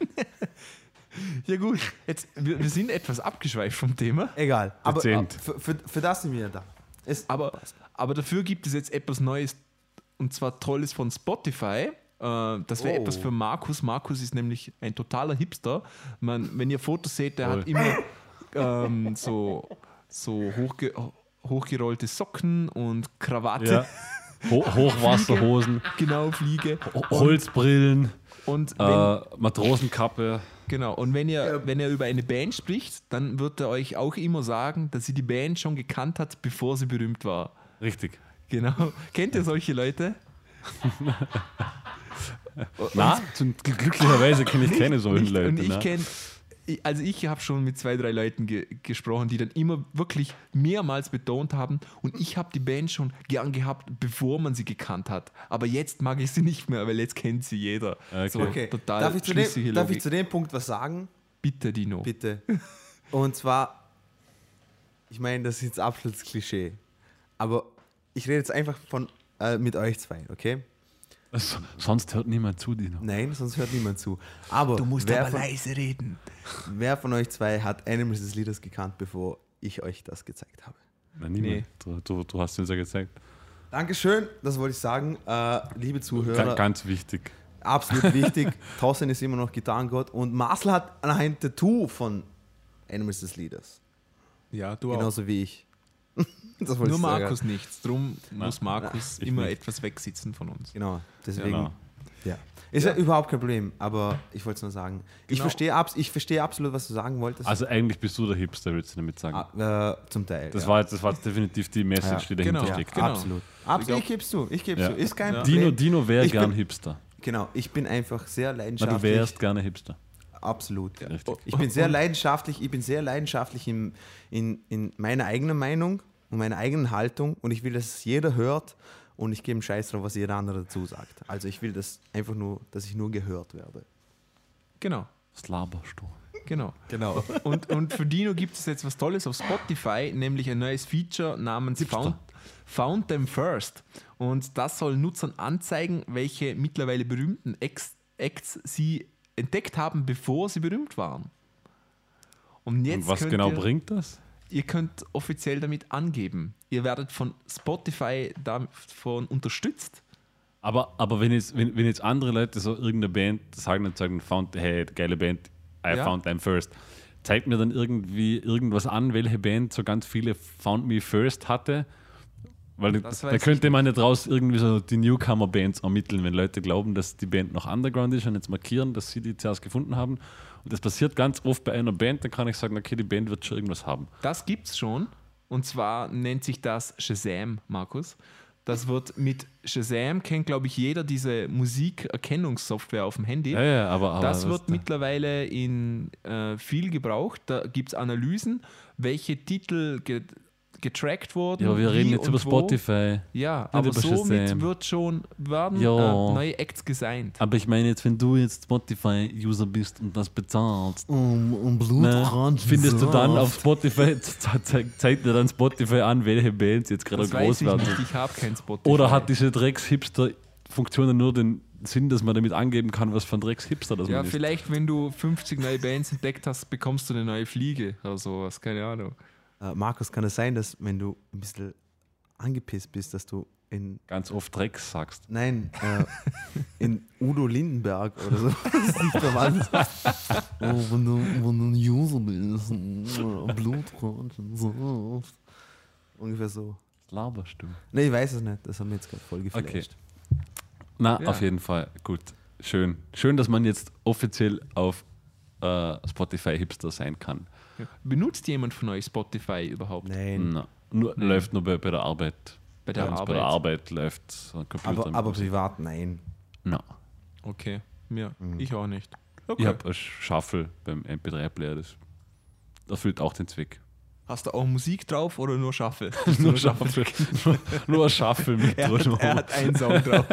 Ja gut, jetzt, wir, wir sind etwas abgeschweift vom Thema, Egal. Aber Dezent. für, für, für das sind wir da. Es, aber, aber dafür gibt es jetzt etwas Neues, und zwar Tolles von Spotify. Äh, Das wäre Oh. etwas für Markus. Markus ist nämlich ein totaler Hipster. Man, wenn ihr Fotos seht, der Voll. hat immer ähm, so, so hochge hochgerollte Socken und Krawatte. ja. Ho Hochwasserhosen, Genau, Fliege. Ho- Holzbrillen, Und wenn, äh, Matrosenkappe. genau, und wenn ihr, wenn er über eine Band spricht, dann wird er euch auch immer sagen, dass sie die Band schon gekannt hat, bevor sie berühmt war. Richtig. Genau. Kennt ihr solche Leute? Na, zum, glücklicherweise kenne ich keine solchen Nicht, Leute. und ich ne? kenne, also ich habe schon mit zwei, drei Leuten ge gesprochen, die dann immer wirklich mehrmals betont haben, und ich habe die Band schon gern gehabt, bevor man sie gekannt hat. Aber jetzt mag ich sie nicht mehr, weil jetzt kennt sie jeder. Okay. So, okay. total Darf, ich zu schlüssige dem, darf ich Logik. zu dem Punkt was sagen? Bitte, Dino. Bitte. Und zwar, ich meine, das ist jetzt absolutes Klischee. Aber ich rede jetzt einfach von äh, mit euch zwei, okay? S- Sonst hört niemand zu, Dino. Nein, sonst hört niemand zu. Aber, Du musst wer, aber von, leise reden. wer von euch zwei hat Animals des Lieders gekannt, bevor ich euch das gezeigt habe? Na, niemand. Nee. Du, du, du hast uns ja gezeigt. Dankeschön, das wollte ich sagen. Äh, liebe Zuhörer, Ga- Ganz wichtig. absolut wichtig. Thorsten ist immer noch Gitarrengott und Marcel hat ein Tattoo von Animals des Lieders. Ja, du auch. Genauso wie ich. Das wollte Nur ich sagen. Markus nichts. Drum muss Markus ich immer nicht. etwas wegsitzen von uns. Genau, deswegen. Genau. Ja. Ist ja. überhaupt kein Problem, aber ich wollte es nur sagen. Ich, Genau. verstehe abs ich verstehe absolut, was du sagen wolltest. Also eigentlich bist du der Hipster, willst du damit sagen. Ah, äh, zum Teil. Das, ja. war, jetzt- das war jetzt definitiv die Message, die dahinter Genau. ja, steckt. Genau. absolut. Absolut. glaub- Ich gebe es zu. Ich gebe Ja. zu. Ist kein Ja. Problem. Dino, Dino wäre Ich gern bin- Hipster. Genau, ich bin einfach sehr Na, leidenschaftlich. du wärst gerne Hipster. Absolut. Ja. Richtig. Ich bin sehr leidenschaftlich, ich bin sehr leidenschaftlich in, in, in meiner eigenen Meinung und meiner eigenen Haltung und ich will, dass es jeder hört und ich gebe einen Scheiß drauf, was jeder andere dazu sagt. Also ich will das einfach nur, dass ich nur gehört werde. Genau. Was laberst du? Genau. Genau. Und, und für Dino gibt es jetzt was Tolles auf Spotify, nämlich ein neues Feature namens Found, Found Them First. Und das soll Nutzern anzeigen, welche mittlerweile berühmten Ex Acts sie entdeckt haben, bevor sie berühmt waren. Und jetzt Und was könnt genau ihr, bringt das? ihr könnt offiziell damit angeben. Ihr werdet von Spotify davon unterstützt. Aber, aber wenn, jetzt, wenn, wenn jetzt andere Leute so irgendeine Band sagen und sagen, found, hey, geile Band, I Ja. found them first, zeigt mir dann irgendwie irgendwas an, welche Band so ganz viele Found Me First hatte. Weil Das da weiß könnte ich man ja draus irgendwie so die Newcomer-Bands ermitteln, wenn Leute glauben, dass die Band noch Underground ist und jetzt markieren, dass sie die zuerst gefunden haben. Und das passiert ganz oft bei einer Band, dann kann ich sagen, okay, die Band wird schon irgendwas haben. Das gibt's schon. Und zwar nennt sich das Shazam, Markus. Das wird mit Shazam, kennt glaube ich jeder diese Musikerkennungssoftware auf dem Handy. Ja, ja, aber, aber Das wird da- mittlerweile in äh, viel gebraucht. Da gibt es Analysen, welche Titel ge getrackt wurden. Ja, aber wir wie reden jetzt und über wo. Spotify. Ja, aber über somit Shazam. wird schon werden Ja. äh, neue Acts gesigned. Aber ich meine jetzt, wenn du jetzt Spotify-User bist und das bezahlst, Um, um ne, findest du dann auf Spotify, ze- ze- zeigt dir dann Spotify an, welche Bands jetzt gerade Das groß weiß ich werden. nicht, ich habe kein Spotify. Oder hat diese Drecks-Hipster-Funktion nur den Sinn, dass man damit angeben kann, was für ein Drecks-Hipster das Ja, man ist? vielleicht, wenn du fünfzig neue Bands entdeckt hast, bekommst du eine neue Fliege oder sowas, keine Ahnung. Äh, Markus, kann es sein, dass wenn du ein bisschen angepisst bist, dass du in, Ganz oft Drecks sagst. nein, äh, in Udo Lindenberg oder so, das ist nicht normal. Oh, wenn du, wenn du ein User bist, äh, Blutrausch und so. Ungefähr so. Was laberst du? Nee, ich weiß es nicht, das haben wir jetzt gerade voll geflasht. Na, Ja. auf jeden Fall. Gut. Schön. Schön, dass man jetzt offiziell auf äh, Spotify Hipster sein kann. Benutzt jemand von euch Spotify überhaupt? Nein, Na, nur, Läuft nur bei, bei der Arbeit. Bei der Bei uns Arbeit? Bei der Arbeit läuft so ein Computer. aber, mit aber Musik. privat nein. Na. Okay, mir. Mhm. Ich auch nicht. Ich Okay. habe ein Shuffle beim M P drei Player. Das erfüllt auch den Zweck. Hast du auch Musik drauf oder nur Shuffle? nur, Shuffle. nur, nur ein Shuffle mit Er hat, er hat einen Song drauf.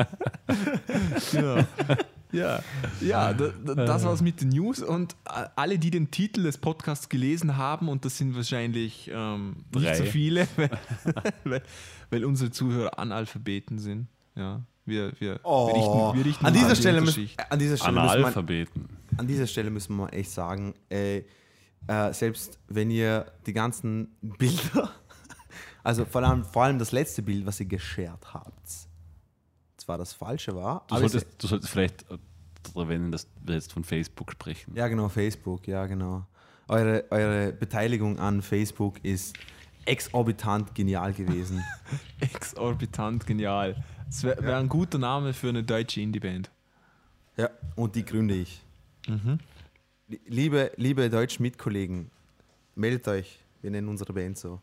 Genau. Ja, ja da, da, das war's mit den News und äh, alle, die den Titel des Podcasts gelesen haben, und das sind wahrscheinlich ähm, Drei. nicht so viele, weil, weil, weil unsere Zuhörer Analphabeten sind. Ja, wir, wir, wir richten, wir richten Oh. an, uns dieser die Stelle müssen, Unterschicht. an, dieser Stelle müssen wir, Analphabeten. an dieser Stelle müssen wir echt sagen, äh, äh, selbst wenn ihr die ganzen Bilder, also vor allem, vor allem das letzte Bild, was ihr geshared habt, zwar das falsche war, Du aber es- solltest, du solltest vielleicht äh, erwähnen, dass wir jetzt von Facebook sprechen. ja genau, Facebook, ja genau. Eure, eure Beteiligung an Facebook ist exorbitant genial gewesen. Exorbitant genial. Das wäre wär ein guter Name für eine deutsche Indie-Band. Ja, und die gründe ich. Mhm. Liebe, liebe deutschen Mitkollegen, meldet euch, wir nennen unsere Band so.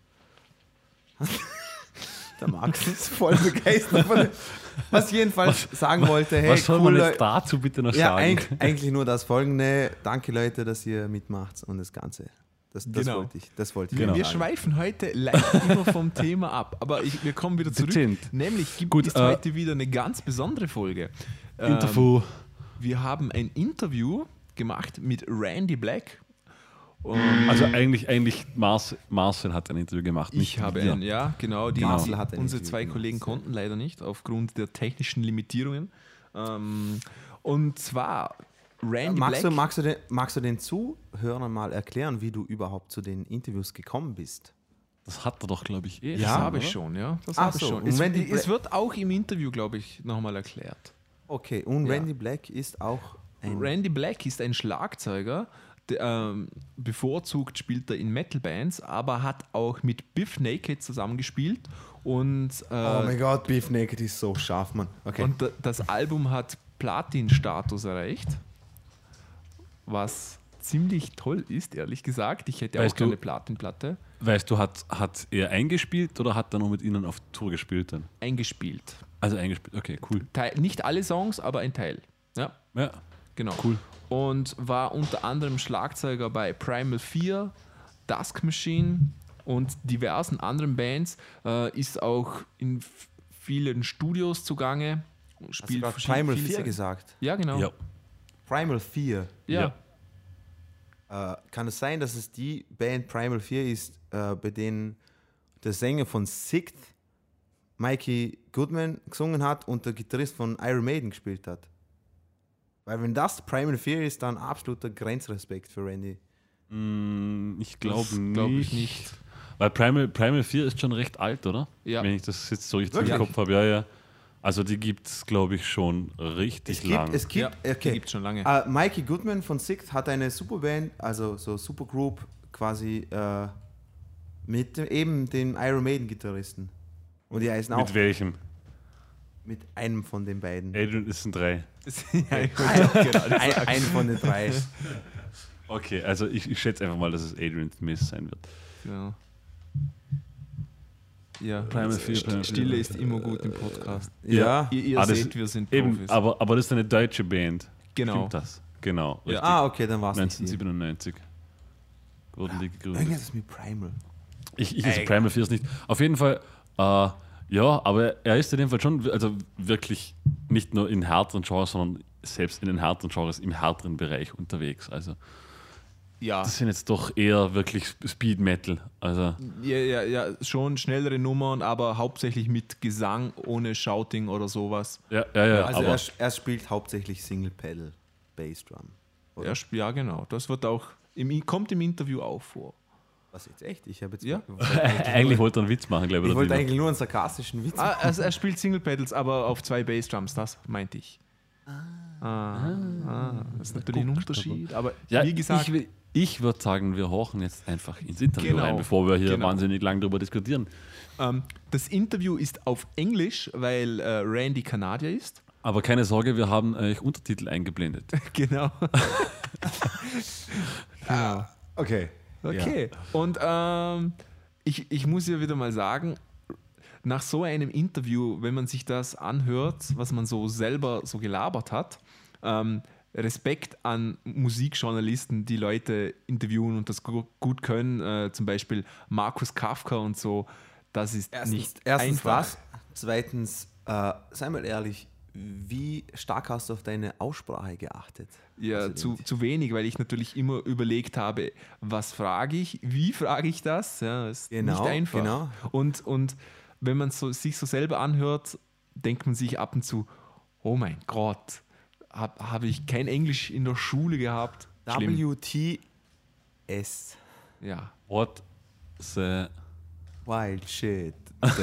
Der Max ist voll begeistert von dem, was ich jedenfalls sagen wollte. Hey, Was soll man cool, jetzt dazu bitte noch ja, sagen? eigentlich, eigentlich nur das Folgende. Danke Leute, dass ihr mitmacht und das Ganze. Das, das Genau. wollte ich. Das wollte ich Genau. Wir sagen. schweifen heute leicht immer vom Thema ab, aber ich, wir kommen wieder zurück. Dezent. Nämlich gibt Gut, es äh, heute wieder eine ganz besondere Folge. Ähm, Interview. Wir haben ein Interview gemacht mit Randy Black. Um, Also eigentlich, eigentlich Mars, Marcel hat ein Interview gemacht. ich nicht habe wir. ein, ja, genau. Die, Marcel hat ein unsere Interview zwei gemacht, Kollegen ja. konnten leider nicht, aufgrund der technischen Limitierungen. Ähm, und zwar Randy Magst Black. du, magst, du den, magst du den Zuhörern mal erklären, wie du überhaupt zu den Interviews gekommen bist? Das hat er doch, glaube ich, eh. Das Ja, habe ich oder? schon, ja. Das Ach habe ich so, schon. und Es, Randy es Black- wird auch im Interview, glaube ich, nochmal erklärt. Okay, und Ja. Randy Black ist auch ein... Randy Black ist ein Schlagzeuger, der, ähm, bevorzugt spielt er in Metal-Bands, aber hat auch mit Biff Naked zusammengespielt und, äh, Oh mein Gott, Beef Naked ist so scharf, Mann. Okay. und da- das Album hat Platin-Status erreicht, was ziemlich toll ist, ehrlich gesagt. Ich hätte Weißt auch gerne du- eine Platin-Platte Weißt du, hat, hat er eingespielt oder hat er noch mit ihnen auf Tour gespielt dann? eingespielt. Also eingespielt, okay, cool. Teil, nicht alle Songs, aber ein Teil. Ja, Ja, genau. cool. Und war unter anderem Schlagzeuger bei Primal vier, Dusk Machine und diversen anderen Bands. Äh, ist auch in f- vielen Studios zugange. Hast du Spielt gerade verschiedene- Primal viele vier Sachen. gesagt? Ja, genau. Ja. Primal vier. Ja. Ja. Äh, kann es sein, dass es die Band Primal vier ist, äh, bei denen der Sänger von Sikt, Mikey Goodman, gesungen hat und der Gitarrist von Iron Maiden gespielt hat? Weil wenn das Primal vier ist, dann absoluter Grenzrespekt für Randy. Mm, ich glaube Das nicht. glaub ich nicht. Weil Primal, Primal vier ist schon recht alt, oder? Ja. Wenn ich das jetzt so richtig Wirklich? im Kopf habe. Ja, ja. Also die gibt es, glaube ich, schon richtig Es gibt, lang. es gibt, Ja, okay. gibt schon lange. Uh, Mikey Goodman von Sixt hat eine Superband, also so Supergroup quasi äh, mit dem, eben dem Iron Maiden Gitarristen. Und die heißen auch Mit welchem? mit einem von den beiden. Adrian ist ein drei. ja, ich wollte auch gerade Ein, sagen. ein von den drei. Okay, also ich, ich schätze einfach mal, dass es Adrian Smith sein wird. Ja. Ja, Primal also Fear, St- Primal Fear. Stille ist immer gut im Podcast. Ja. Ihr, ihr Ah, das- seht, wir sind Eben, Profis. aber, aber das ist eine deutsche Band. Genau. Stimmt das? Genau. Ja. Richtig. Ah, okay, dann war es nicht. die. neunzehnhundertsiebenundneunzig wurden die gegründet. Irgendwas mit Primal. Ich, ich also Ey. Primal Fear ist nicht. Auf jeden Fall, äh, ja, aber er ist in dem Fall schon, also wirklich nicht nur in härteren Genres, sondern selbst in den härteren Genres im härteren Bereich unterwegs. Also Ja. das sind jetzt doch eher wirklich Speed Metal. Also Ja, ja, ja, schon schnellere Nummern, aber hauptsächlich mit Gesang, ohne Shouting oder sowas. ja, ja, ja. Also aber er, er spielt hauptsächlich Single Pedal Bass Drum. Oder? Ja, sp- ja, genau. Das wird auch im, kommt im Interview auch vor. Was jetzt echt? Ich habe jetzt Ja. eigentlich wollte er einen Witz machen, glaube ich. ich oder wollte wie? eigentlich nur einen sarkastischen Witz. Ah, also er spielt Single Pedals, aber auf zwei Bassdrums, das meinte ich. Ah, ah, das ist natürlich ein Unterschied, aber Ja, wie gesagt, ich, will- ich würde sagen, wir horchen jetzt einfach ins Interview Genau. rein, bevor wir hier Genau. wahnsinnig lang darüber diskutieren. ähm, das Interview ist auf Englisch, weil äh, Randy Kanadier ist. Aber keine Sorge, wir haben euch Untertitel eingeblendet. Genau. Okay. Okay. Und ähm, ich, ich muss ja wieder mal sagen, nach so einem Interview, wenn man sich das anhört, was man so selber so gelabert hat, ähm, Respekt an Musikjournalisten, die Leute interviewen und das gu- gut können, äh, zum Beispiel Markus Kafka und so, das ist Erstens, nicht erstens einfach. das. Zweitens, äh, sei mal ehrlich, wie stark hast du auf deine Aussprache geachtet? Ja, Also zu, den- zu wenig, weil ich natürlich immer überlegt habe, was frage ich, wie frage ich das? Ja, ist Genau, nicht einfach. genau. Und, und wenn man so, sich so selber anhört, denkt man sich ab und zu, oh mein Gott, habe hab ich kein Englisch in der Schule gehabt? Schlimm. W T S. Ja. What the... Wild shit.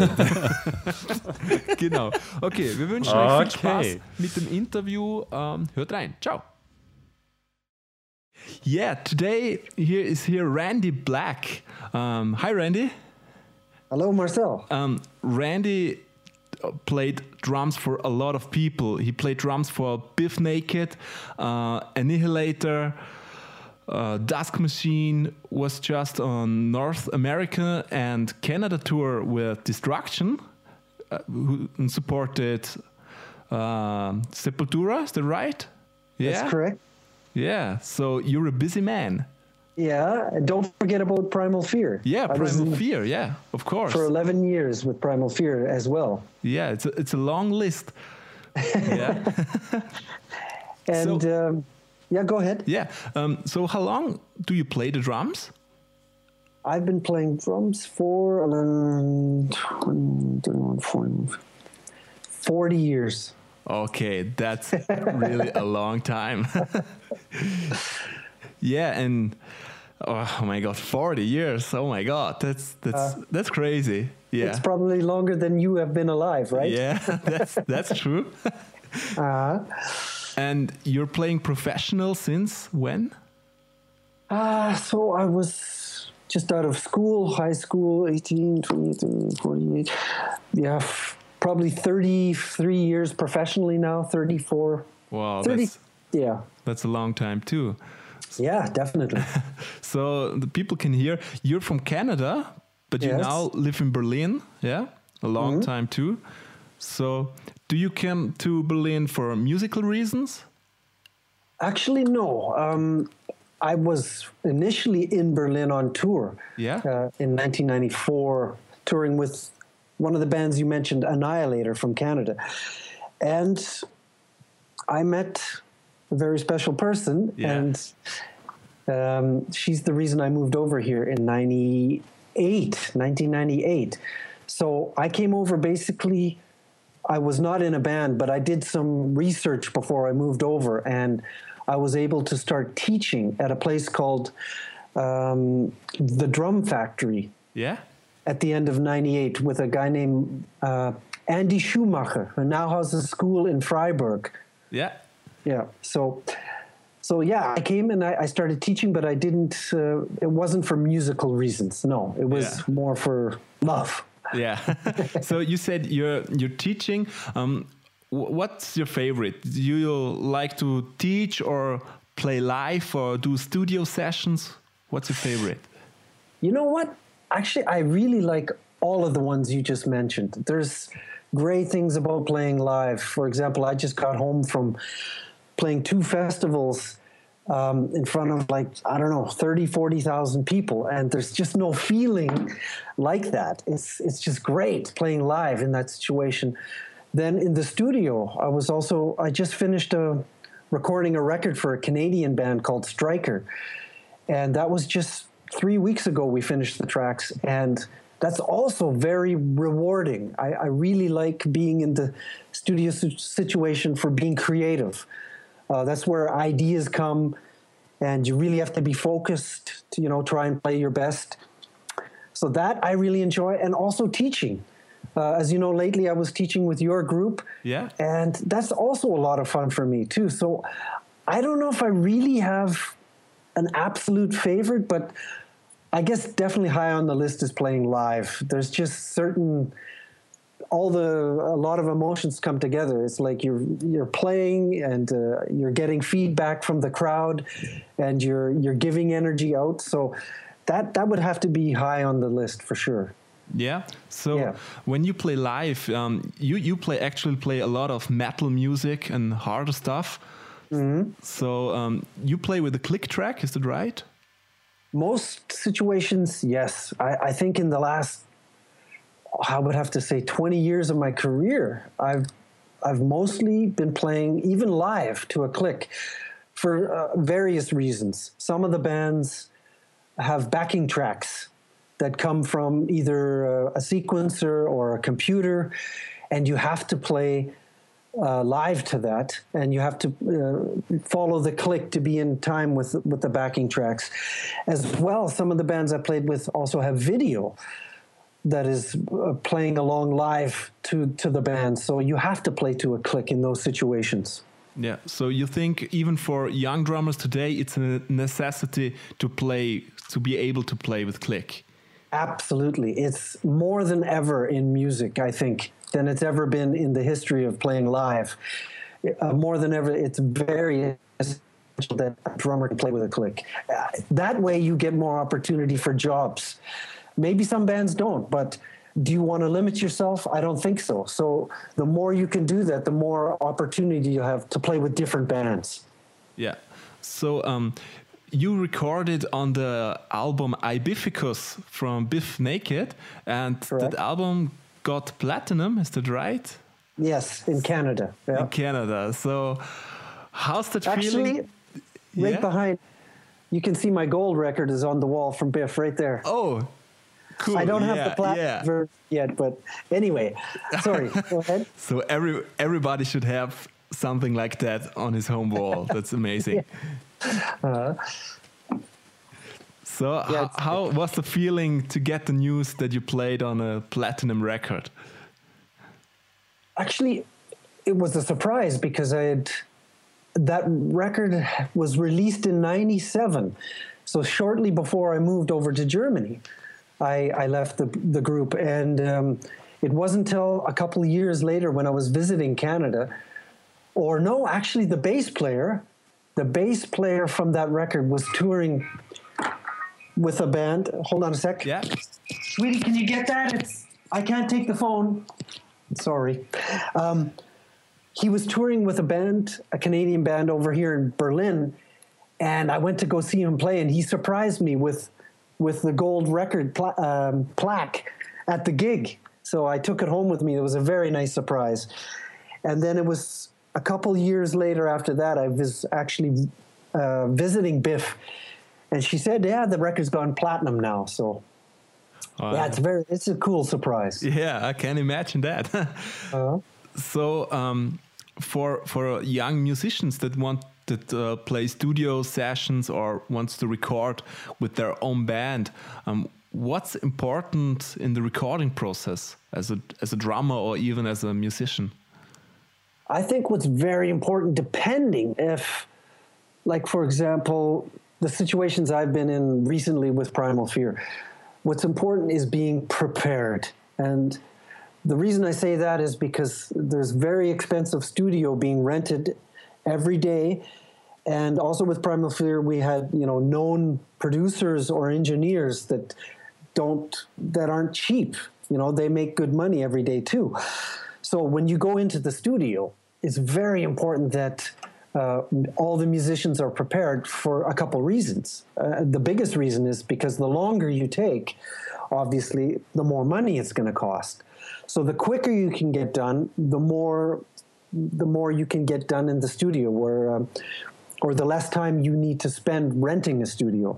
Genau. Okay, wir wünschen euch viel Spaß Okay. mit dem Interview. Ähm, hört rein. Ciao. Yeah, today here is here Randy Black. Um, hi, Randy. Hello, Marcel. Um, Randy uh, played drums for a lot of people. He played drums for Biff Naked, uh, Annihilator, uh, Dusk Machine, was just on North America and Canada tour with Destruction, uh, who supported uh, Sepultura, is that right? Yeah, That's correct. Yeah, so you're a busy man. Yeah, and don't forget about Primal Fear. Yeah, I was Primal in Fear, yeah, of course. for eleven years with Primal Fear as well. Yeah, it's a, it's a long list. Yeah. And So- um, yeah, go ahead. Yeah. Um, so how long do you play the drums? I've been playing drums for um, twenty, thirty-one, forty, forty years. Okay, that's really a long time. Yeah, and oh my god, forty years. Oh my god, that's that's that's crazy. Yeah. It's probably longer than you have been alive, right? Yeah, that's that's true. Uh, And you're playing professional since when? uh, so I was just out of school, high school, eighteen, twenty, thirty, forty-eight. Yeah, f- probably thirty-three years professionally now, thirty-four. Wow, thirty. that's Yeah. that's a long time too. Yeah, definitely. So the people can hear you're from Canada, but you Yes. now live in Berlin. Yeah, a long time too. So do you come to Berlin for musical reasons? Actually, no. Um, I was initially in Berlin on tour. Yeah. Uh, in nineteen ninety-four, touring with one of the bands you mentioned, Annihilator from Canada. And I met a very special person, Yeah. and um, she's the reason I moved over here in ninety-eight, nineteen ninety-eight. So I came over basically, I was not in a band, but I did some research before I moved over, and I was able to start teaching at a place called um, the Drum Factory Yeah. at the end of ninety-eight with a guy named uh, Andy Schumacher, who now has a school in Freiburg. Yeah. Yeah. So, so yeah, I came and I, I started teaching, but I didn't. Uh, it wasn't for musical reasons. No, it was Yeah. more for love. Yeah. So you said you're you're teaching. Um, wh- what's your favorite? Do you like to teach or play live or do studio sessions? What's your favorite? You know what? Actually, I really like all of the ones you just mentioned. There's great things about playing live. For example, I just got home from playing two festivals um, in front of like, I don't know, thirty, forty thousand people. And there's just no feeling like that. It's, it's just great playing live in that situation. Then in the studio, I was also, I just finished a, recording a record for a Canadian band called Striker. And that was just three weeks ago we finished the tracks. And that's also very rewarding. I, I really like being in the studio situation for being creative. Uh, that's where ideas come, and you really have to be focused to, you know, try and play your best. So that I really enjoy, and also teaching. Uh, as you know, lately I was teaching with your group, Yeah. and that's also a lot of fun for me too. So I don't know if I really have an absolute favorite, but I guess definitely high on the list is playing live. There's just certain, all the, a lot of emotions come together. It's like you're you're playing and uh, you're getting feedback from the crowd, and you're you're giving energy out. So that that would have to be high on the list for sure. Yeah. So Yeah. when you play live, um, you you play actually play a lot of metal music and harder stuff. Mm-hmm. So um, you play with a click track, is that right? Most situations, yes. I, I think in the last, I would have to say, twenty years of my career, I've I've mostly been playing even live to a click for uh, various reasons. Some of the bands have backing tracks that come from either uh, a sequencer or a computer, and you have to play uh, live to that, and you have to uh, follow the click to be in time with with the backing tracks. As well, some of the bands I played with also have video that is uh, playing along live to, to the band. So you have to play to a click in those situations. Yeah. So you think even for young drummers today, it's a necessity to play, to be able to play with click? Absolutely. It's more than ever in music, I think, than it's ever been in the history of playing live. Uh, more than ever, it's very essential that a drummer can play with a click. Uh, that way you get more opportunity for jobs. Maybe some bands don't, but do you want to limit yourself? I don't think so. So the more you can do that, the more opportunity you have to play with different bands. Yeah. So um, you recorded on the album Ibificus from Biff Naked, and Correct. that album got platinum, is that right? Yes, in Canada. Yeah. In Canada. So how's that Actually, feeling? right Yeah? behind, you can see my gold record is on the wall from Biff right there. Oh, cool. I don't have Yeah, the platinum yeah. version yet, but anyway, sorry. Go ahead. So every everybody should have something like that on his home wall. That's amazing. Uh, So Yeah, ho- it's- how was the feeling to get the news that you played on a platinum record? Actually, it was a surprise because I had that record was released in ninety-seven. So shortly before I moved over to Germany, I, I left the, the group. And um, it wasn't until a couple of years later when I was visiting Canada, or no, actually the bass player, the bass player from that record was touring with a band. Hold on a sec. Yeah. Sweetie, can you get that? It's I can't take the phone. Sorry. Um, he was touring with a band, a Canadian band over here in Berlin, and I went to go see him play, and he surprised me with with the gold record pla- um, plaque at the gig. So I took it home with me. It was a very nice surprise. And then it was a couple years later after that, I was actually uh, visiting Biff, and she said, "Yeah, the record's gone platinum now." So Uh, yeah, it's very it's a cool surprise. Yeah, I can imagine that. Uh-huh. So, um, for for young musicians that want to uh, play studio sessions or wants to record with their own band, um, what's important in the recording process as a as a drummer or even as a musician? I think what's very important, depending if, like, for example, the situations I've been in recently with Primal Fear, what's important is being prepared. And the reason I say that is because there's very expensive studio being rented every day. And also with Primal Fear, we had, you know, known producers or engineers that don't, that aren't cheap. You know, they make good money every day too. So when you go into the studio, it's very important that uh, all the musicians are prepared for a couple reasons. Uh, the biggest reason is because the longer you take, obviously, the more money it's going to cost. So the quicker you can get done, the more the more you can get done in the studio, where um, or the less time you need to spend renting a studio.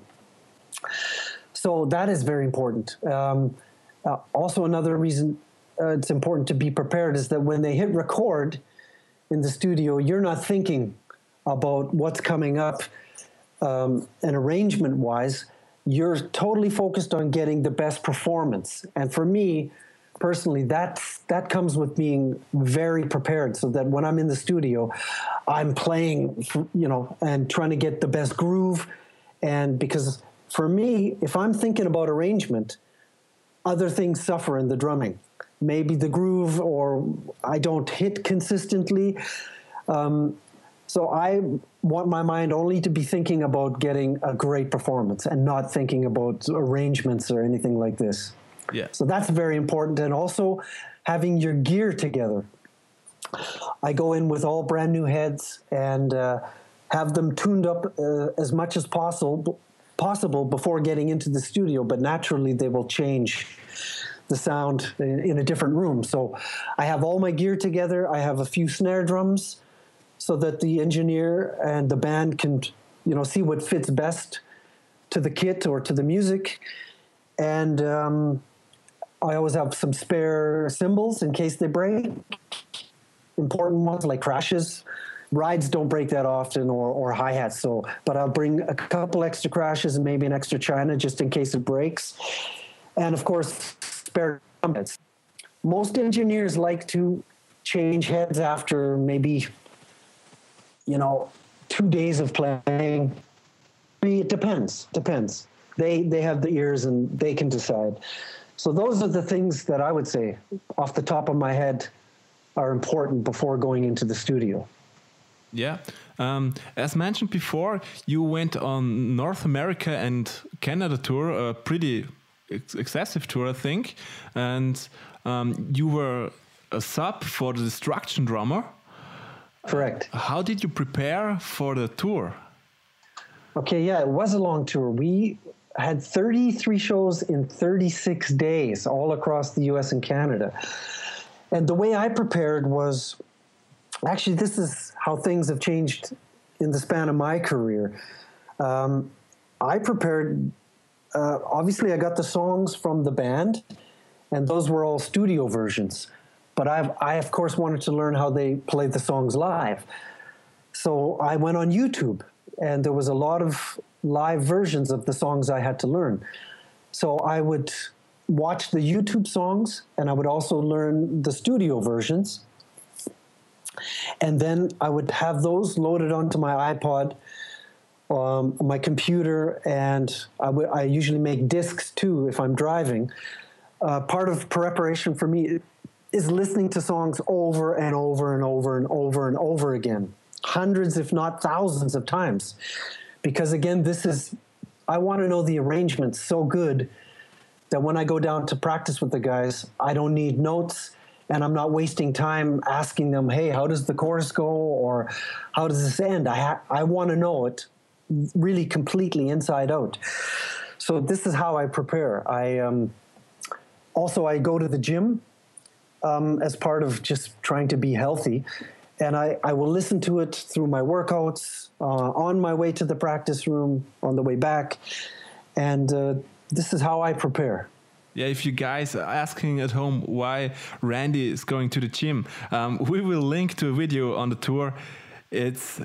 So that is very important. Um, uh, also, another reason uh, it's important to be prepared is that when they hit record in the studio, you're not thinking about what's coming up um, and arrangement-wise. You're totally focused on getting the best performance. And for me, personally, that's, that comes with being very prepared, so that when I'm in the studio, I'm playing, you know, and trying to get the best groove. And because for me, if I'm thinking about arrangement, other things suffer in the drumming. Maybe the groove, or I don't hit consistently. Um, so I want my mind only to be thinking about getting a great performance and not thinking about arrangements or anything like this. Yeah. So that's very important. And also having your gear together. I go in with all brand new heads and uh, have them tuned up uh, as much as possible, possible before getting into the studio, but naturally they will change the sound in, in a different room. So I have all my gear together. I have a few snare drums so that the engineer and the band can, you know, see what fits best to the kit or to the music. And um, I always have some spare cymbals in case they break. Important ones like crashes. Rides don't break that often, or, or hi-hats. So, but I'll bring a couple extra crashes and maybe an extra china just in case it breaks. And of course, spare drum heads. Most engineers like to change heads after maybe, you know, two days of playing. It depends, depends. They, they have the ears and they can decide. So those are the things that I would say off the top of my head are important before going into the studio. Yeah. Um, as mentioned before, you went on North America and Canada tour, a pretty ex excessive tour, I think. And um, you were a sub for the Destruction drummer. Correct. Uh, how did you prepare for the tour? Okay, yeah, it was a long tour. We had thirty-three shows in thirty-six days all across the U S and Canada. And the way I prepared was, actually, this is how things have changed in the span of my career. Um, I prepared, uh, obviously I got the songs from the band, and those were all studio versions. But I've, I, of course, wanted to learn how they played the songs live. So I went on YouTube, and there was a lot of live versions of the songs I had to learn. So I would watch the YouTube songs, and I would also learn the studio versions. And then I would have those loaded onto my iPod, um, my computer, and I, w I usually make discs too if I'm driving. Uh, part of preparation for me is listening to songs over and over and over and over and over again, hundreds if not thousands of times. Because again, this is, I want to know the arrangements so good that when I go down to practice with the guys, I don't need notes, and I'm not wasting time asking them, hey, how does the chorus go, or how does this end? I, ha I want to know it really completely inside out. So this is how I prepare. I um, also, I go to the gym um, as part of just trying to be healthy, and I, I will listen to it through my workouts, uh, on my way to the practice room, on the way back, and uh, this is how I prepare. Yeah, if you guys are asking at home why Randy is going to the gym, um, we will link to a video on the tour. It's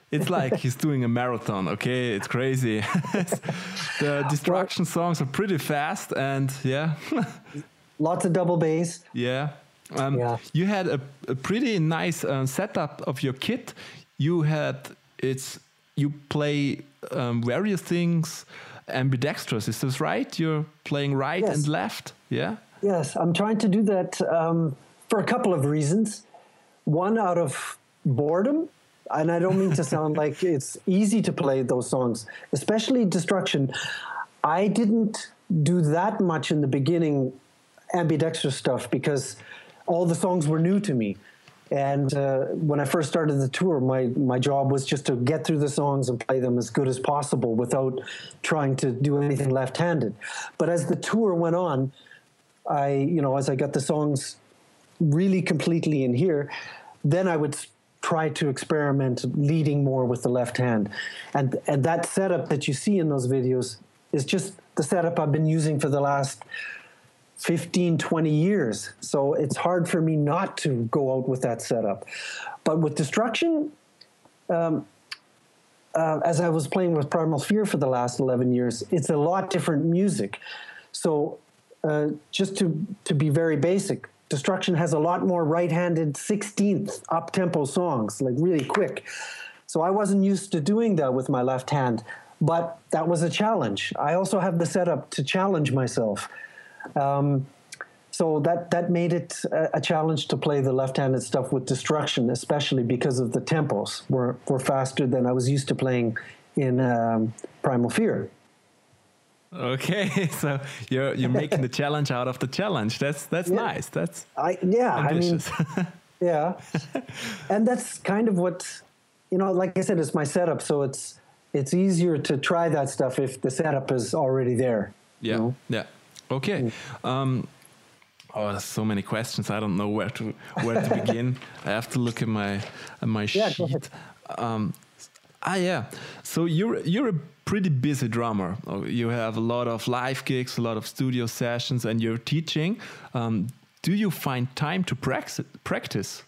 it's like he's doing a marathon. Okay, it's crazy. The Destruction songs are pretty fast, and yeah, lots of double bass. Yeah. Um, Yeah. You had a, a pretty nice uh, setup of your kit. You had it's you play um, various things ambidextrous. Is this right? You're playing right Yes. and left. Yeah. Yes, I'm trying to do that um, for a couple of reasons. One, out of boredom, and I don't mean to sound like it's easy to play those songs, especially Destruction. I didn't do that much in the beginning, ambidextrous stuff, because all the songs were new to me. And uh, when I first started the tour, my, my job was just to get through the songs and play them as good as possible without trying to do anything left-handed. But as the tour went on, I, you know, as I got the songs really completely in here, then I would s- try to experiment leading more with the left hand. And, and that setup that you see in those videos is just the setup I've been using for the last fifteen, twenty years. So it's hard for me not to go out with that setup. But with Destruction, um, uh, as I was playing with Primal Fear for the last eleven years, it's a lot different music. So uh, just to, to be very basic, Destruction has a lot more right-handed sixteenth up-tempo songs, like really quick. So I wasn't used to doing that with my left hand, but that was a challenge. I also have the setup to challenge myself. Um, so that, that made it a, a challenge to play the left-handed stuff with Destruction, especially because of the tempos were, were faster than I was used to playing in um, Primal Fear. Okay, so you're you're making the challenge out of the challenge. That's that's Yeah. nice. That's I yeah, ambitious. I mean, yeah, and that's kind of what, you know. Like I said, it's my setup, so it's it's easier to try that stuff if the setup is already there. you Yeah, know? yeah. Okay. Um, oh, there's so many questions. I don't know where to where to begin. I have to look at my at my Yeah, go sheet. Um, ah, yeah. So you're you're a pretty busy drummer. Oh, you have a lot of live gigs, a lot of studio sessions, and you're teaching. Um, do you find time to prax- practice?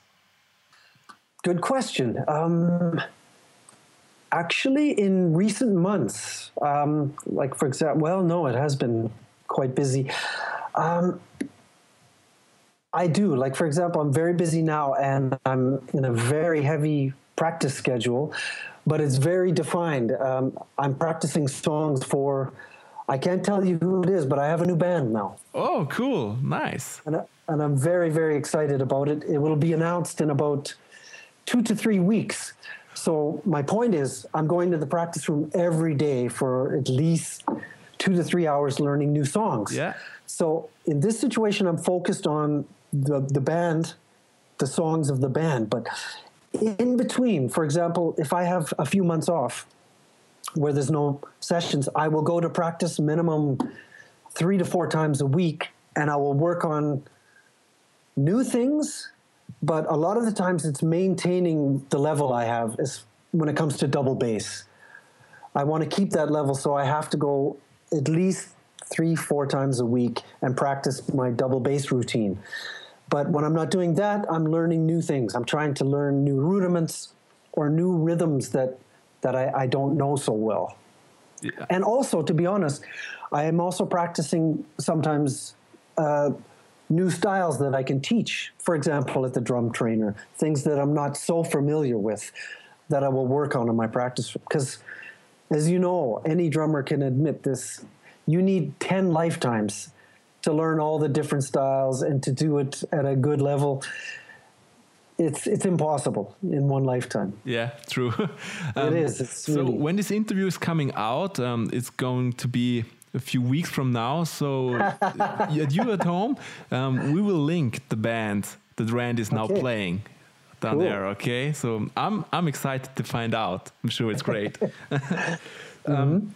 Good question. Um, actually, in recent months, um, like for example, well, no, it has been quite busy. Um, I do. Like, for example, I'm very busy now and I'm in a very heavy practice schedule, but it's very defined. Um, I'm practicing songs for, I can't tell you who it is, but I have a new band now. Oh, cool. Nice. And, I, and I'm very, very excited about it. It will be announced in about two to three weeks. So my point is, I'm going to the practice room every day for at least two to three hours learning new songs. Yeah. So in this situation, I'm focused on the, the band, the songs of the band. But in between, for example, if I have a few months off where there's no sessions, I will go to practice minimum three to four times a week, and I will work on new things. But a lot of the times it's maintaining the level I have is when it comes to double bass. I want to keep that level, so I have to go at least three, four times a week and practice my double bass routine. But when I'm not doing that, I'm learning new things. I'm trying to learn new rudiments or new rhythms that, that I, I don't know so well. Yeah. And also, to be honest, I am also practicing sometimes uh, new styles that I can teach. For example, at the drum trainer, things that I'm not so familiar with that I will work on in my practice. Because, as you know, any drummer can admit this, you need ten lifetimes to learn all the different styles and to do it at a good level. It's it's impossible in one lifetime. Yeah, true. Um, It is. It's so really... when this interview is coming out, um, it's going to be a few weeks from now. So at you at home, um, we will link the band that Randy is now Okay. playing down Cool. there. Okay, so I'm I'm excited to find out. I'm sure it's great. um,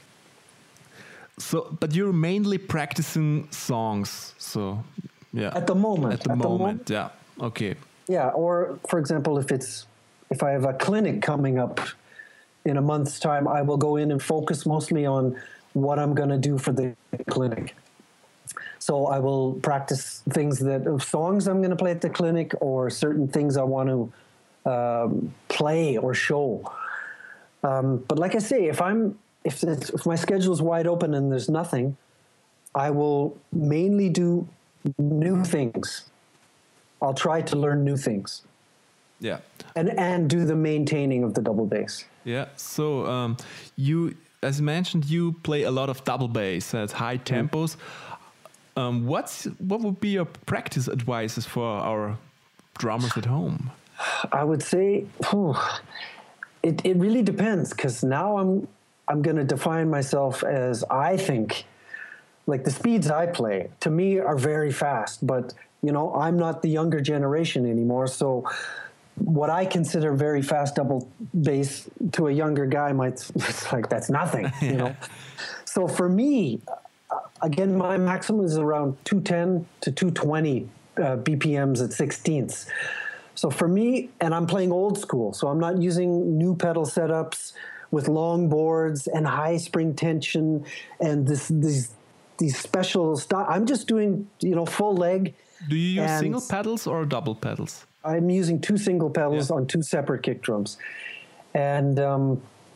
so, but you're mainly practicing songs. So yeah, At the moment. at the At the moment, yeah. Okay. Yeah, or for example, if it's if I have a clinic coming up in a month's time, I will go in and focus mostly on what I'm going to do for the clinic. So I will practice things that songs I'm going to play at the clinic, or certain things I want to um, play or show. Um, but like I say, if I'm if it's, if my schedule's wide open and there's nothing, I will mainly do new things. I'll try to learn new things. Yeah. And and do the maintaining of the double bass. Yeah. So um, you, as mentioned, you play a lot of double bass at high tempos. Um, what's what would be your practice advices for our drummers at home? I would say whew, it it really depends, because now I'm I'm going to define myself as, I think, like the speeds I play to me are very fast, but you know, I'm not the younger generation anymore, so what I consider very fast double bass to a younger guy might, it's like, that's nothing, you know. So for me, again, my maximum is around two ten to two twenty uh, B P Ms at sixteenths. So for me, and I'm playing old school, so I'm not using new pedal setups with long boards and high spring tension and this these these special stuff. I'm just doing, you know, full leg. Do you use single pedals or double pedals? I'm using two single pedals yeah. on two separate kick drums. And um,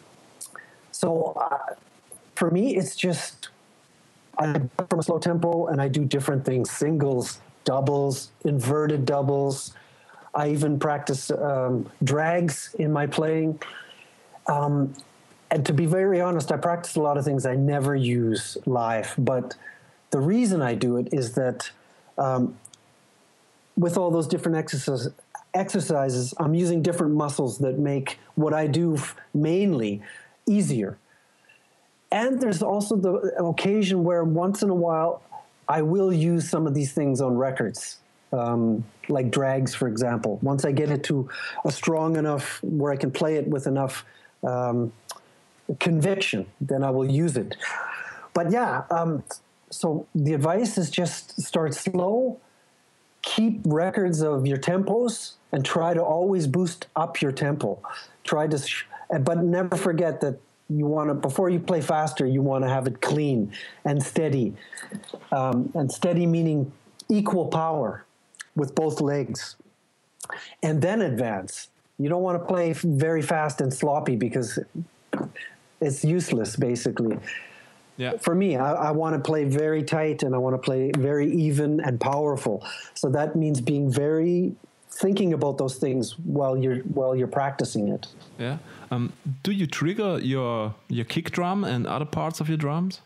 so uh, for me, it's just, I go from a slow tempo and I do different things, singles, doubles, inverted doubles. I even practice um, drags in my playing. Um, and to be very honest, I practice a lot of things I never use live. But the reason I do it is that um, with all those different exercises, exercises, I'm using different muscles that make what I do f- mainly easier. And there's also the occasion where once in a while I will use some of these things on records, um, like drags, for example. Once I get it to a strong enough where I can play it with enough um, conviction, then I will use it. But yeah, um, so the advice is just start slow, keep records of your tempos, and try to always boost up your tempo. Try to, sh- but never forget that you want to, before you play faster, you want to have it clean and steady. Um, and steady meaning equal power with both legs. And then advance. You don't want to play very fast and sloppy because it's useless, basically. Yeah. For me, I, I want to play very tight and I want to play very even and powerful. So that means being very thinking about those things while you're while you're practicing it. Yeah. Um, do you trigger your your kick drum and other parts of your drums?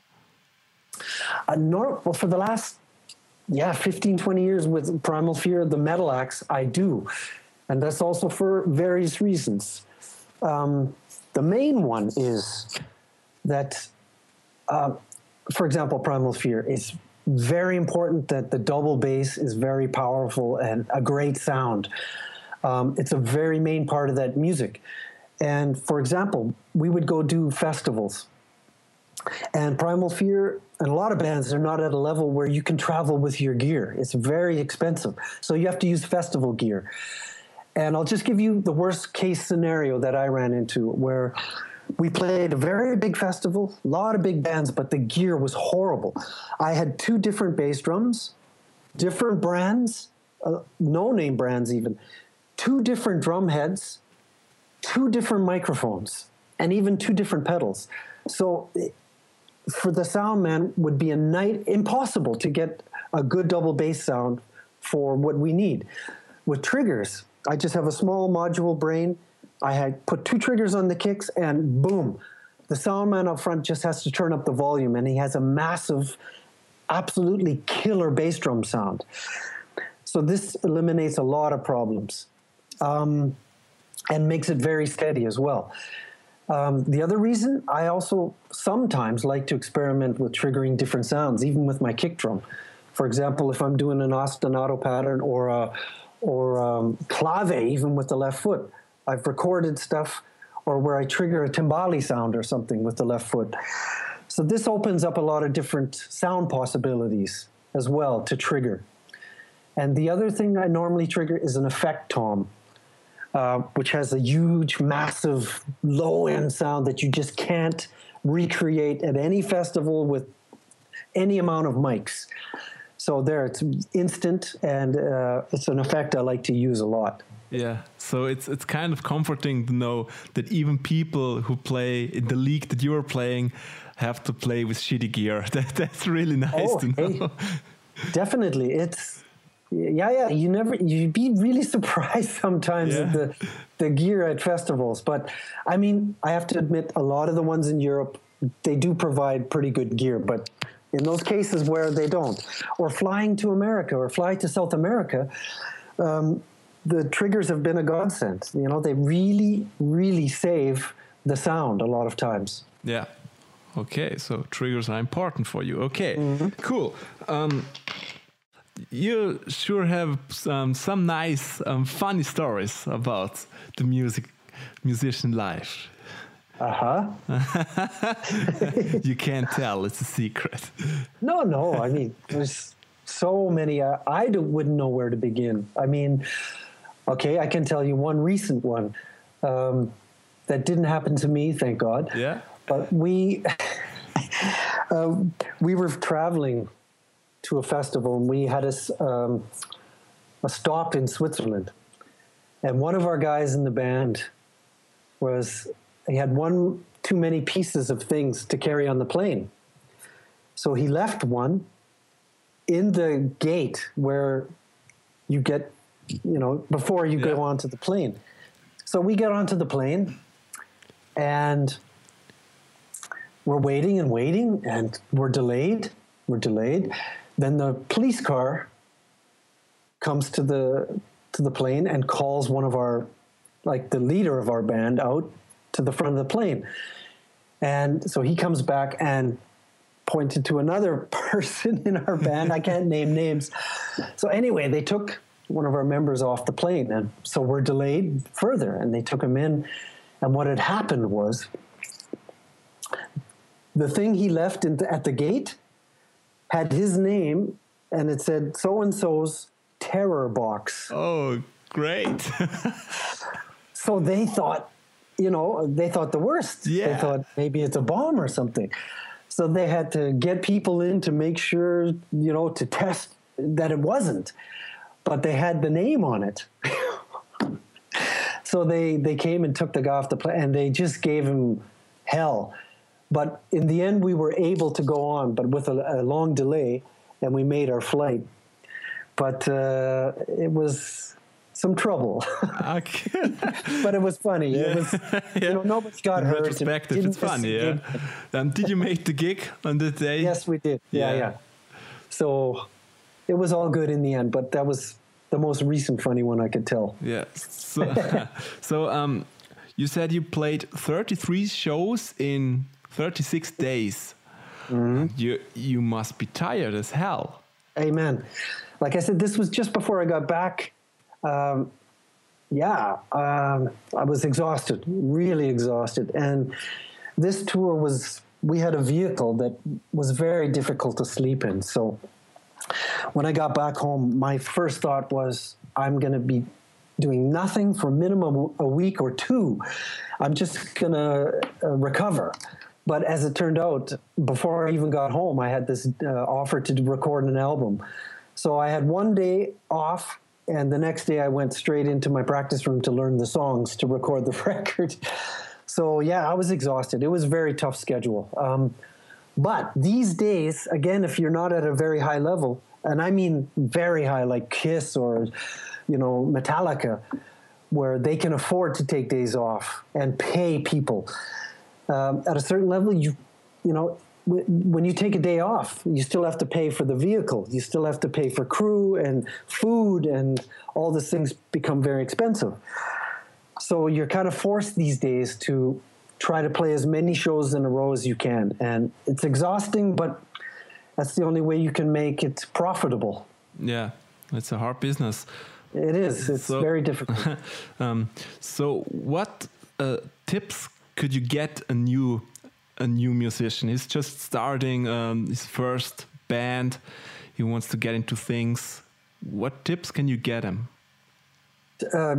Uh, nor, well, for the last yeah fifteen, twenty years with Primal Fear, the metal axe, I do, and that's also for various reasons. Um, the main one is that. Uh, for example, Primal Fear, it's very important that the double bass is very powerful and a great sound. Um, it's a very main part of that music. And for example, we would go do festivals. And Primal Fear and a lot of bands are not at a level where you can travel with your gear. It's very expensive. So you have to use festival gear. And I'll just give you the worst case scenario that I ran into, where we played a very big festival, a lot of big bands, but the gear was horrible. I had two different bass drums, different brands, uh, no-name brands even, two different drum heads, two different microphones, and even two different pedals. So for the sound man, would be a night impossible to get a good double bass sound for what we need. With triggers, I just have a small module brain. I had put two triggers on the kicks and boom, the sound man up front just has to turn up the volume and he has a massive, absolutely killer bass drum sound. So this eliminates a lot of problems um, and makes it very steady as well. Um, the other reason, I also sometimes like to experiment with triggering different sounds, even with my kick drum. For example, if I'm doing an ostinato pattern or a, or um, clave, even with the left foot, I've recorded stuff, or where I trigger a timbali sound or something with the left foot. So this opens up a lot of different sound possibilities as well to trigger. And the other thing I normally trigger is an effect tom, uh, which has a huge, massive, low-end sound that you just can't recreate at any festival with any amount of mics. So there, it's instant, and uh, it's an effect I like to use a lot. Yeah, so it's it's kind of comforting to know that even people who play in the league that you are playing have to play with shitty gear. That, that's really nice Oh, to know. hey, definitely. It's yeah, yeah. You never you'd be really surprised sometimes Yeah. at the the gear at festivals. But I mean, I have to admit, a lot of the ones in Europe, they do provide pretty good gear. But in those cases where they don't, or flying to America or flying to South America, um, the triggers have been a godsend. You know, they really, really save the sound a lot of times. Yeah. Okay, so triggers are important for you. Okay, cool. Um, you sure have some some nice, um, funny stories about the music musician life. Uh huh. You can't tell; it's a secret. No, no. I mean, there's so many. Uh, I do, wouldn't know where to begin. I mean, okay, I can tell you one recent one um, that didn't happen to me, thank God. Yeah. But we uh, we were traveling to a festival, and we had a, s- um, a stop in Switzerland. And one of our guys in the band was he had one too many pieces of things to carry on the plane. So he left one in the gate where you get, you know, before you Yeah. go onto the plane. So we get onto the plane, and we're waiting and waiting, and we're delayed. We're delayed. Then the police car comes to the to the plane and calls one of our, like the leader of our band, out to the front of the plane. And so he comes back and pointed to another person in our band. I can't name names. So anyway, they took one of our members off the plane, and so we're delayed further. And they took him in, and what had happened was the thing he left in the, at the gate had his name, and it said so and so's terror box. Oh, great! So they thought, you know, they thought the worst. Yeah. They thought maybe it's a bomb or something. So they had to get people in to make sure, you know, to test that it wasn't. But they had the name on it. So they, they came and took the guy off the plane, and they just gave him hell. But in the end, we were able to go on, but with a, a long delay, and we made our flight. But uh, it was some trouble. Okay. But it was funny. Yeah. It was, you know, nobody got In hurt. retrospective, Didn't it's funny. miss a Yeah. gig. Um, did you make the gig on the day? Yes, we did. Yeah, Yeah. yeah. So it was all good in the end, but that was the most recent funny one I could tell. Yeah. So, so um, you said you played thirty-three shows in thirty-six days. Mm-hmm. You you must be tired as hell. Amen. Like I said, this was just before I got back. Um, yeah, um, I was exhausted, really exhausted. And this tour was, we had a vehicle that was very difficult to sleep in. So when I got back home, my first thought was, I'm going to be doing nothing for minimum a week or two. I'm just going to uh, recover. But as it turned out, before I even got home, I had this uh, offer to record an album. So I had one day off, and the next day I went straight into my practice room to learn the songs to record the record. So yeah, I was exhausted. It was a very tough schedule. Um, but these days, again, if you're not at a very high level, and I mean very high, like Kiss or, you know, Metallica, where they can afford to take days off and pay people. Um, at a certain level, you, you know, w- when you take a day off, you still have to pay for the vehicle. You still have to pay for crew and food, and all these things become very expensive. So you're kind of forced these days to try to play as many shows in a row as you can. And it's exhausting, but that's the only way you can make it profitable. Yeah, it's a hard business. It is. It's So- very difficult. um, so what uh, tips could you get a new a new musician? He's just starting um, his first band. He wants to get into things. What tips can you get him? uh,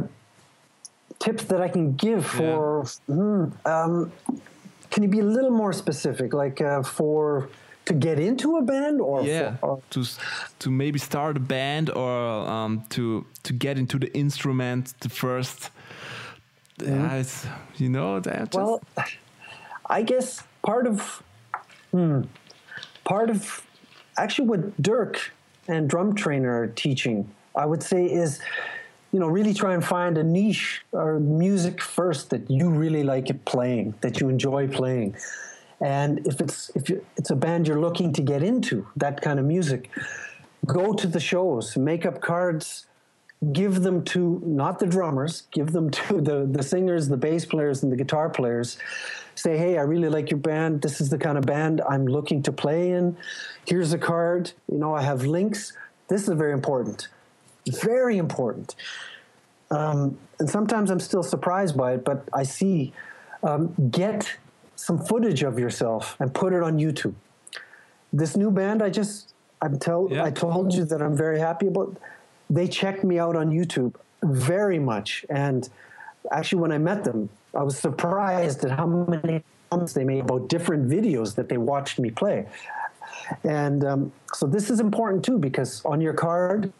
tips that I can give for, hmm, um, can you be a little more specific, like uh, for, to to get into a band, or Yeah, for, or, to s- to maybe start a band, or um, to to get into the instrument, the first. Yeah, it's, you know that. well, I guess part of hmm, part of actually what Dirk and Drum Trainer are teaching, I would say, is, you know, really try and find a niche or music first that you really like it playing, that you enjoy playing. And if it's if you, it's a band you're looking to get into, that kind of music, go to the shows, make up cards, give them to not the drummers, give them to the, the singers, the bass players, and the guitar players. Say, hey, I really like your band. This is the kind of band I'm looking to play in. Here's a card. You know, I have links. This is very important. Very important. Um, and sometimes I'm still surprised by it, but I see, um, get some footage of yourself and put it on YouTube. This new band, I just, I'm tell, Yeah. I told you that I'm very happy about. They checked me out on YouTube very much. And actually, when I met them, I was surprised at how many comments they made about different videos that they watched me play. And um, so this is important too, because on your card,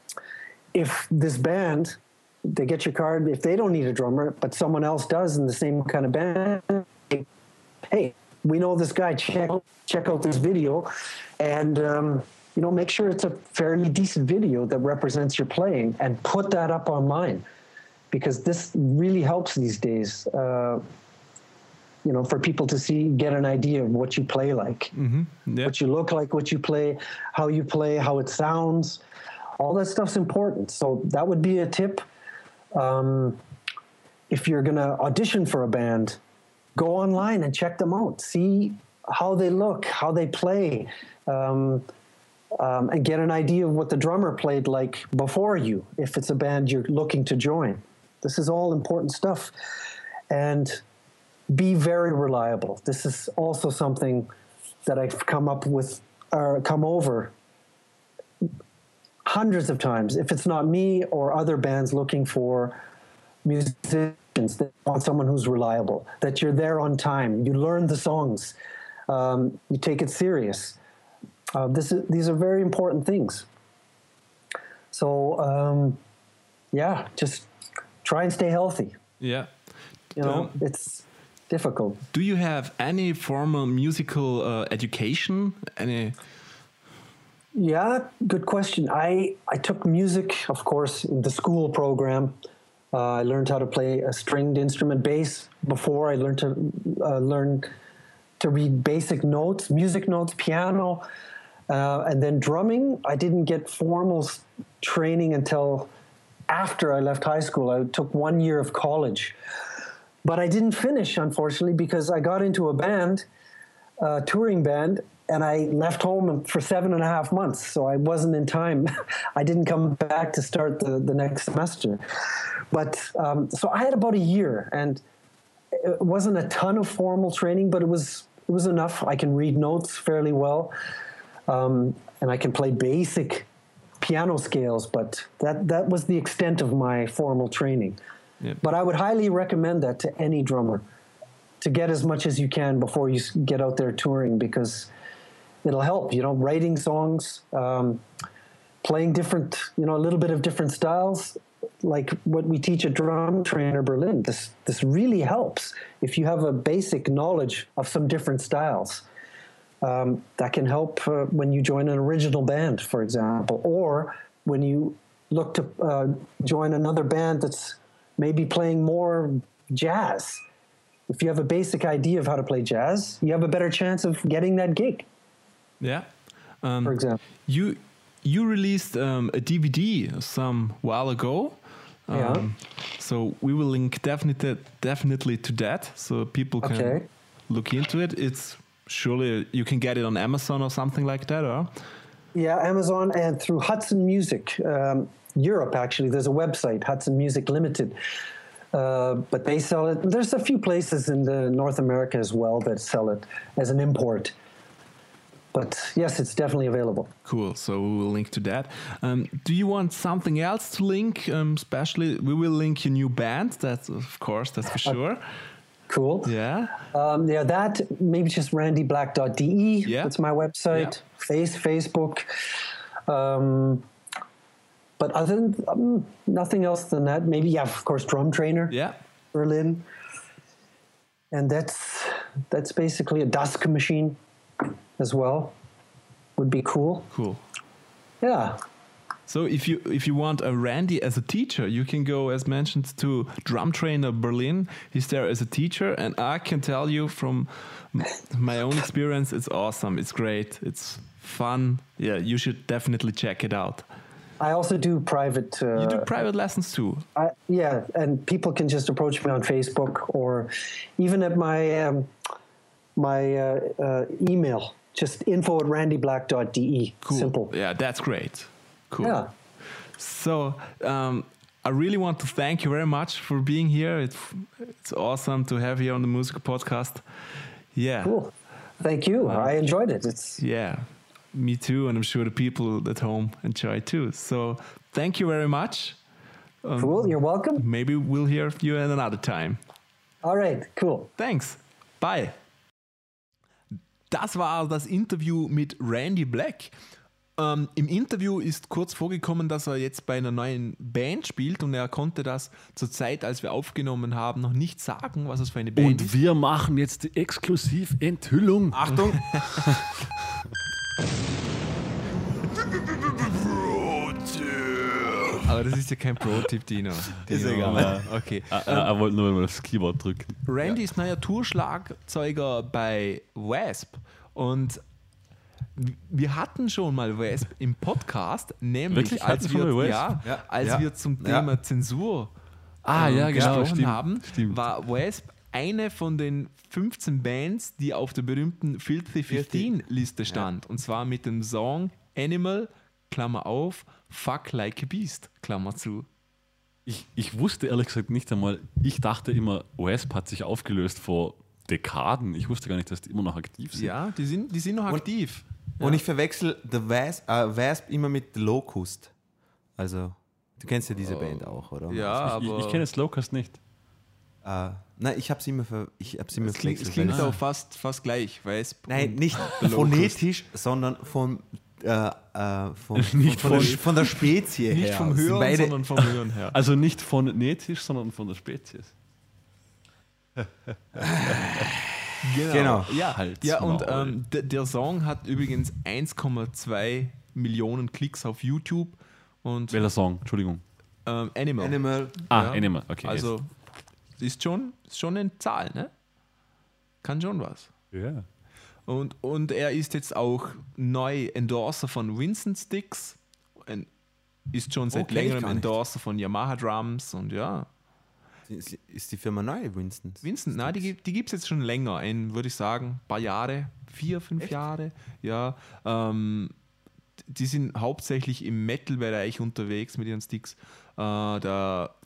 if this band, they get your card, if they don't need a drummer, but someone else does in the same kind of band, hey, we know this guy, check, check out this video, and um, you know, make sure it's a fairly decent video that represents your playing, and put that up online, because this really helps these days, uh, you know, for people to see, get an idea of what you play like, Mm-hmm. Yeah. what you look like, what you play, how you play, how it sounds. All that stuff's important. So that would be a tip. Um, if you're going to audition for a band, go online and check them out. See how they look, how they play, um, um, and get an idea of what the drummer played like before you, if it's a band you're looking to join. This is all important stuff. And be very reliable. This is also something that I've come up with, or come over hundreds of times. If it's not me or other bands looking for musicians that want someone who's reliable, that you're there on time, you learn the songs, um, you take it serious. Uh, this is, these are very important things. So, um, yeah, just try and stay healthy. Yeah. You know, Um, it's difficult. Do you have any formal musical uh, education? Any? Yeah, good question. I, I took music, of course, in the school program. Uh, I learned how to play a stringed instrument, bass, before I learned to uh, learn to read basic notes, music notes, piano, uh, and then drumming. I didn't get formal s- training until after I left high school. I took one year of college. But I didn't finish, unfortunately, because I got into a band, a touring band, and I left home for seven and a half months. So I wasn't in time. I didn't come back to start the, the next semester. But um, so I had about a year, and it wasn't a ton of formal training, but it was it was enough. I can read notes fairly well, um, and I can play basic piano scales, but that, that was the extent of my formal training. Yep. But I would highly recommend that to any drummer, to get as much as you can before you s- get out there touring, because it'll help, you know, writing songs, um, playing different, you know, a little bit of different styles, like what we teach at Drum Trainer Berlin. This, this really helps if you have a basic knowledge of some different styles. Um, that can help uh, when you join an original band, for example, or when you look to uh, join another band that's maybe playing more jazz. If you have a basic idea of how to play jazz, you have a better chance of getting that gig, Yeah. Um, for example. You you released um, a D V D some while ago. Um, Yeah. So we will link definitely definitely to that, so people can Okay. look into it. It's surely you can get it on Amazon or something like that, or Yeah, Amazon and through Hudson Music, um, Europe, actually. There's a website, Hudson Music Limited. Uh, but they sell it. There's a few places in the North America as well that sell it as an import. But yes, it's definitely available. cool. So we will link to that. Um, do you want something else to link? Um, especially, we will link your new band. That's of course, that's for sure. cool. Yeah. Um, yeah, that, maybe just randy black dot d e. Yeah. That's my website. Yeah. Face, Facebook. Um, but other than um, nothing else than that, maybe, yeah, of course, Drum Trainer, Yeah. Berlin. And that's that's basically a Dusk machine as well. Would be cool. Cool. Yeah. So if you if you want a Randy as a teacher, you can go, as mentioned, to Drum Trainer Berlin. He's there as a teacher, and I can tell you from m- my own experience, it's awesome. It's great. It's fun. Yeah, you should definitely check it out. I also do private. Uh, You do private lessons too. I, yeah, and people can just approach me on Facebook or even at my um, my uh, uh, email. Just info at randy black dot d e. Cool. Simple. Yeah, that's great. Cool. Yeah. So um, I really want to thank you very much for being here. It's it's awesome to have you on the Music Podcast. Yeah. Cool. Thank you. I enjoyed it. It's Yeah. Me too, and I'm sure the people at home enjoy too. So thank you very much. Um, cool. You're welcome. Maybe we'll hear you at another time. All right. Cool. Thanks. Bye. Das war das Interview mit Randy Black. Ähm, Im Interview ist kurz vorgekommen, dass er jetzt bei einer neuen Band spielt und er konnte das zur Zeit, als wir aufgenommen haben, noch nicht sagen, was es für eine Band Und ist. wir machen jetzt die Exklusiv-Enthüllung. Achtung! Aber das ist ja kein Pro-Tipp, Dino. Ist Dino. egal. Okay. Er, er wollte nur mal das Keyboard drücken. Randy ist neuer Tourschlagzeuger bei Wasp und wir hatten schon mal Wasp im Podcast, nämlich Wirklich? als, Hatten wir wir, Wasp? ja, Ja. als Ja. wir zum Ja. Thema Zensur Ah, ähm, ja, genau, gesprochen stimmt, haben, stimmt. war Wasp eine von den fünfzehn Bands, die auf der berühmten Filthy fünfzehn Liste stand. Und zwar mit dem Song Animal, Klammer auf, Fuck Like a Beast, Klammer zu. Ich, ich wusste ehrlich gesagt nicht einmal, ich dachte immer, Wasp hat sich aufgelöst vor Dekaden. Ich wusste gar nicht, dass die immer noch aktiv sind. Ja, die sind, die sind noch Und- aktiv. Und ich verwechsel The Wasp, äh, Wasp immer mit The Locust. Also, du kennst ja diese Band auch, oder? Ja, Ich, aber ich kenne Slowcast nicht. Äh, nein, ich habe sie immer, ver ich hab sie immer es klingt, es verwechselt. klingt weil- auch fast, fast gleich. Wasp Nein, und nicht The Locust. phonetisch, sondern von, äh, äh, von, Nicht von, der, von- von der Spezie Nicht her. vom Es sind Hören, beide, sondern vom Hören her. Also nicht phonetisch, sondern von der Spezies. Genau. Ja, Halt's ja und Maul. ähm, d- der Song hat übrigens eins Komma zwei Millionen Klicks auf YouTube und Welcher Song? Entschuldigung. ähm, Animal. Animal. Ah, Ja. Animal, okay. Also ist schon, ist schon eine Zahl, ne? Kann schon was. jetzt. Ja. Und, und er ist jetzt auch neu Endorser von Winston Sticks, ein- ist schon seit Oh, kenn ich längerem gar nicht. Endorser von Yamaha Drums und ja. Ist ist die Firma neu, Winston? Winston, nein, die, gibt- die gibt es jetzt schon länger, in, würde ich sagen, ein paar Jahre, vier, fünf Jahre. Ja, ähm, die sind hauptsächlich im Metal-Bereich unterwegs mit ihren Sticks. Äh, der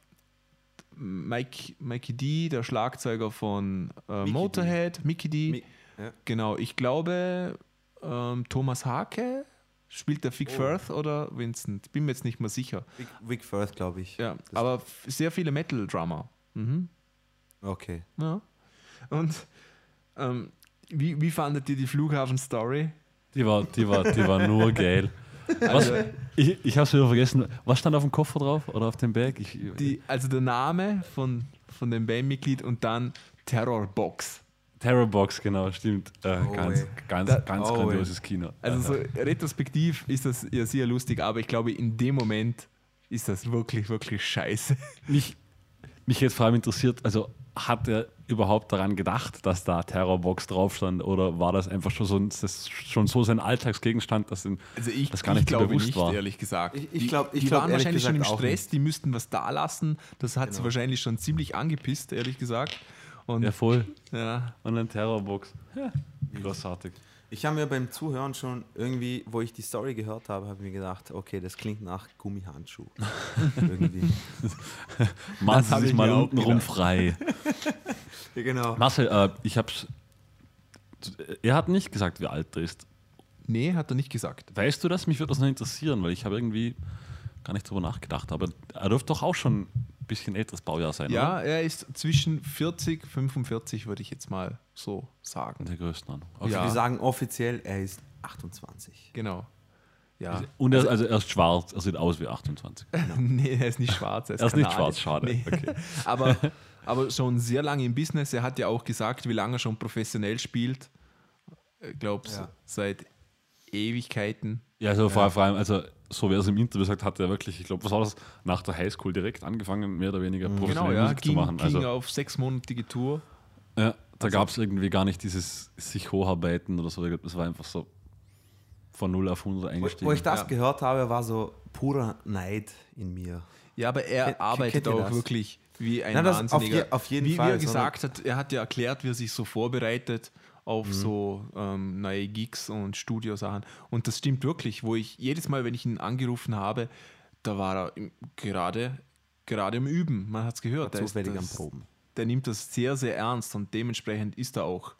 Mike, Mikey D, der Schlagzeuger von äh, Mickey Motorhead, Mickey D. Mi- ja. Genau, ich glaube, ähm, Thomas Hake spielt der Vic Oh. Firth oder Vincent. Bin mir jetzt nicht mehr sicher. Vic, Vic Firth, glaube ich. Ja, Das- aber f- sehr viele Metal-Drummer. Mhm. Okay. Ja. Und ähm, wie, wie fandet ihr die Flughafen-Story? Die war, die war, die war nur geil. Was, ich ich habe es wieder vergessen. Was stand auf dem Koffer drauf oder auf dem Bag? Ich, Die, also der Name von, von dem Bandmitglied und dann Terrorbox. Terrorbox, genau, stimmt. Äh, Oh, ganz ey. ganz, Da- ganz oh, grandioses Kino. Also Äh, so retrospektiv ist das ja sehr lustig, aber ich glaube, in dem Moment ist das wirklich, wirklich scheiße. mich, mich jetzt vor allem interessiert, also hat er überhaupt daran gedacht, dass da Terrorbox drauf stand oder war das einfach schon so, ein- das schon so sein Alltagsgegenstand, dass ihm Also ich, das gar ich nicht glaube bewusst nicht, war? ehrlich gesagt. Ich- ich Die- glaub- ich die glaub waren ehrlich wahrscheinlich schon im gesagt auch Stress, nicht. die müssten was da lassen. Das hat sie Genau. wahrscheinlich schon ziemlich angepisst, ehrlich gesagt. Und Ja, voll. ja, Und ein Terrorbox. Ja, großartig. Ich habe mir beim Zuhören schon irgendwie, wo ich die Story gehört habe, habe ich mir gedacht, okay, das klingt nach Gummihandschuh. irgendwie. Machen Sie hab sich ich mal mir auch unten rum gedacht. frei. Ja, genau. Marcel, äh, ich hab's. Er hat nicht gesagt, wie alt er ist. nee, hat er nicht gesagt. Weißt du das? Mich würde das noch interessieren, weil ich habe irgendwie gar nicht drüber nachgedacht. Aber er dürfte doch auch schon bisschen älteres Baujahr sein, Ja, oder? er ist zwischen vierzig, fünfundvierzig, würde ich jetzt mal so sagen. Der Größenordnung. Ja. Wir sagen offiziell, er ist achtundzwanzig. Genau. Ja. Und er, also er ist schwarz, er sieht aus wie achtundzwanzig. Nee, er ist nicht schwarz. Er ist nicht Kanadier. schwarz, schade. Nee. Okay. aber, aber schon sehr lange im Business. Er hat ja auch gesagt, wie lange er schon professionell spielt. Ich glaube, Ja. seit Ewigkeiten. Ja, also vor vor allem, also so wie er es im Interview sagt, hat er wirklich, ich glaube, was war das, nach der Highschool direkt angefangen, mehr oder weniger Genau, professionell ja. Musik Ging, zu machen. ging Also, auf sechsmonatige Tour. ja, da gab es irgendwie gar nicht dieses sich hocharbeiten oder so. Das war einfach so von null auf hundert Wo, eingestiegen. wo ich das Ja. gehört habe, war so purer Neid in mir. Ja, aber er Kennt- arbeitet kennt ihr auch das? wirklich wie ein Nein, das auf Wahnsinniger. je- auf jeden wie, Fall, Wie er sondern- gesagt hat, er hat ja erklärt, wie er sich so vorbereitet auf Mhm. so ähm, neue Gigs und Studiosachen. Und das stimmt wirklich, wo ich jedes Mal, wenn ich ihn angerufen habe, da war er im, gerade, gerade im Üben. Man hat es gehört. Der ist Zufällig am das- Proben. Der nimmt das sehr, sehr ernst und dementsprechend ist er auch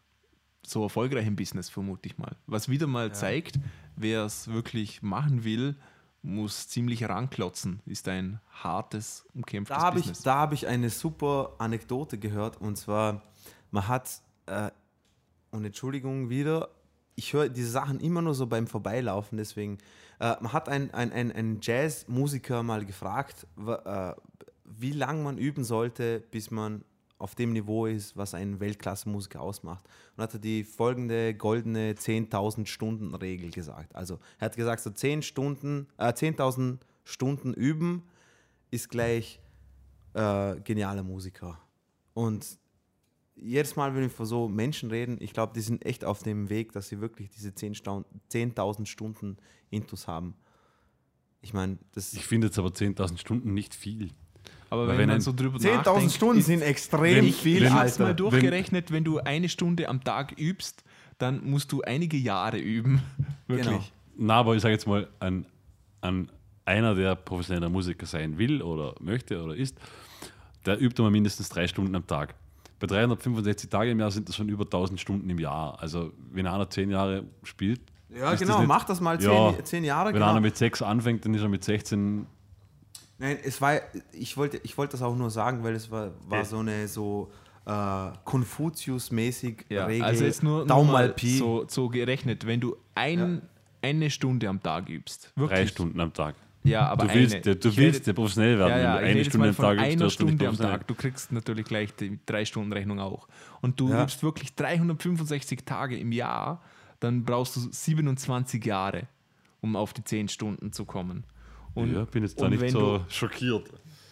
so erfolgreich im Business, vermute ich mal. Was wieder mal zeigt, wer es wirklich machen will, muss ziemlich ranklotzen. Ist ein hartes, umkämpftes Da habe ich, Business. da hab ich eine super Anekdote gehört, und zwar, man hat, äh, und Entschuldigung wieder, ich höre diese Sachen immer nur so beim Vorbeilaufen, deswegen, äh, man hat einen ein, ein, ein Jazzmusiker mal gefragt, wa- äh, wie lange man üben sollte, bis man auf dem Niveau ist, was einen Weltklasse-Musiker ausmacht. Und hat er die folgende goldene zehntausend Stunden Regel gesagt. Also er hat gesagt, so zehn Stunden, äh, zehntausend Stunden üben ist gleich äh, genialer Musiker. Und jedes Mal, wenn wir von so Menschen reden, ich glaube, die sind echt auf dem Weg, dass sie wirklich diese zehntausend Stunden Intus haben. Ich meine, das Ich finde jetzt aber zehntausend Stunden nicht viel. Aber Weil wenn, wenn man ein- so drüber zehntausend nachdenkt, Stunden ist- sind extrem wenn- viel, ich habe es Alter. mal durchgerechnet, wenn du eine Stunde am Tag übst, dann musst du einige Jahre üben. Wirklich. Genau. Na, aber ich sage jetzt mal, an, an einer, der professioneller Musiker sein will oder möchte oder ist, der übt immer mindestens drei Stunden am Tag. Bei dreihundertfünfundsechzig Tagen im Jahr sind das schon über tausend Stunden im Jahr. Also wenn einer zehn Jahre spielt, Ja, ist das genau, nicht- mach das mal zehn, Ja, zehn Jahre. wenn Genau. einer mit sechs anfängt, dann ist er mit sechzehn. Nein, es war, ich wollte, ich wollte das auch nur sagen, weil es war, war Ja. so eine so äh, Konfuzius-mäßig Ja, Regel. also jetzt nur, nur Daumen mal mal Pi. so, so gerechnet, wenn du ein, eine Stunde am Tag übst. Wirklich. Drei Stunden am Tag. Ja, aber Du willst, eine. ja, du Ich willst rede- ja professionell werden. Ja, ja, wenn du ich eine rede jetzt Stunde mal am von Tag übst, einer wirst du nicht Stunde am professionell. Tag. Du kriegst natürlich gleich die drei-Stunden-Rechnung auch. Und du Ja. übst wirklich dreihundertfünfundsechzig Tage im Jahr, dann brauchst du siebenundzwanzig Jahre, um auf die zehn Stunden zu kommen. Und, Ja, bin jetzt da und nicht wenn so Du, schockiert.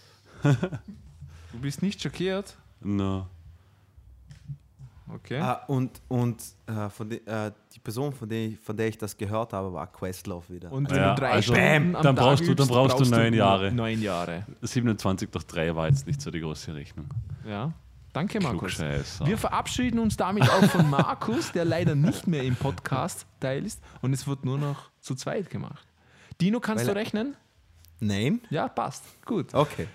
du bist nicht schockiert? No. Okay. Ah, und und äh, von de, äh, die Person, von der, ich, von der ich das gehört habe, war Questlove wieder. Und wenn Ja, du drei also, Stunden bam, am dann Tag brauchst du- dann übst, brauchst du neun Jahre. Neun Jahre. siebenundzwanzig durch drei war jetzt nicht so die große Rechnung. Ja. Danke, Markus. Klugscheißer. Wir verabschieden uns damit auch von Markus, der leider nicht mehr im Podcast Teil ist. Und es wird nur noch zu zweit gemacht. Dino, kannst Weil du er- rechnen? Nein? Ja, passt. Gut. Okay.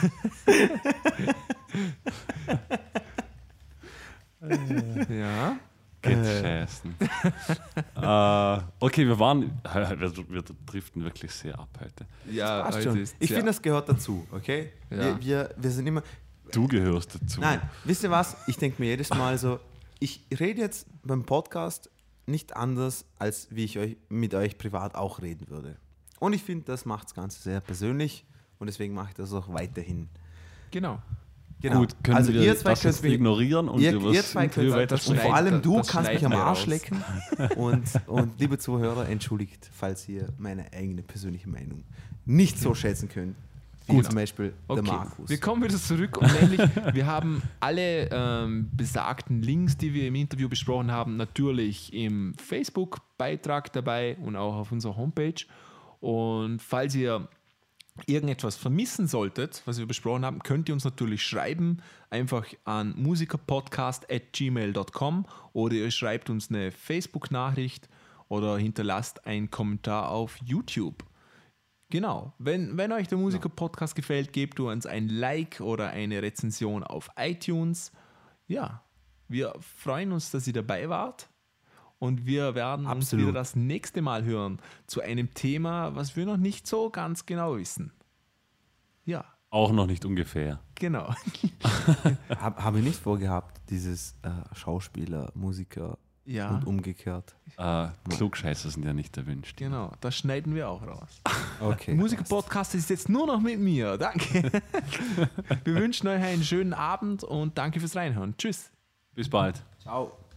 Ja. Geht scheißen. äh, okay, wir waren, wir, wir driften wirklich sehr ab heute. Ja, Passt also schon. ist Ich sehr- finde, das gehört dazu, okay? Ja. Wir, wir, wir sind immer. Du gehörst dazu. Nein, wisst ihr was? Ich denke mir jedes Mal so, ich rede jetzt beim Podcast nicht anders, als wie ich euch, mit euch privat auch reden würde. Und ich finde, das macht das Ganze sehr persönlich und deswegen mache ich das auch weiterhin. Genau. Genau. Gut, können also wir ihr zwei das könnt jetzt mich, ignorieren und ihr, über ihr das zwei Interview könnt, das und schneiden- vor allem du das kannst mich am schneiden wir Arsch raus. lecken und, und liebe Zuhörer, entschuldigt, falls ihr meine eigene persönliche Meinung nicht so schätzen könnt, wie Gut. zum Beispiel Okay, der Markus. wir kommen wieder zurück und nämlich, wir haben alle ähm, besagten Links, die wir im Interview besprochen haben, natürlich im Facebook-Beitrag dabei und auch auf unserer Homepage. Und falls ihr irgendetwas vermissen solltet, was wir besprochen haben, könnt ihr uns natürlich schreiben, einfach an musikerpodcast at gmail dot com oder ihr schreibt uns eine Facebook-Nachricht oder hinterlasst einen Kommentar auf YouTube. Genau, wenn, wenn euch der Musiker-Podcast gefällt, gebt uns ein Like oder eine Rezension auf iTunes. Ja, wir freuen uns, dass ihr dabei wart und wir werden uns Absolut. wieder das nächste Mal hören zu einem Thema, was wir noch nicht so ganz genau wissen. Ja, Auch noch nicht ungefähr. Genau. Habe hab ich nicht vorgehabt, dieses äh, Schauspieler, Musiker Ja, und umgekehrt. Äh, Klugscheißer sind ja nicht erwünscht. genau. Das schneiden wir auch raus. Okay. Musiker-Podcast ist jetzt nur noch mit mir. Danke. Wir wünschen euch einen schönen Abend und danke fürs Reinhören. Tschüss. Bis bald. Ciao.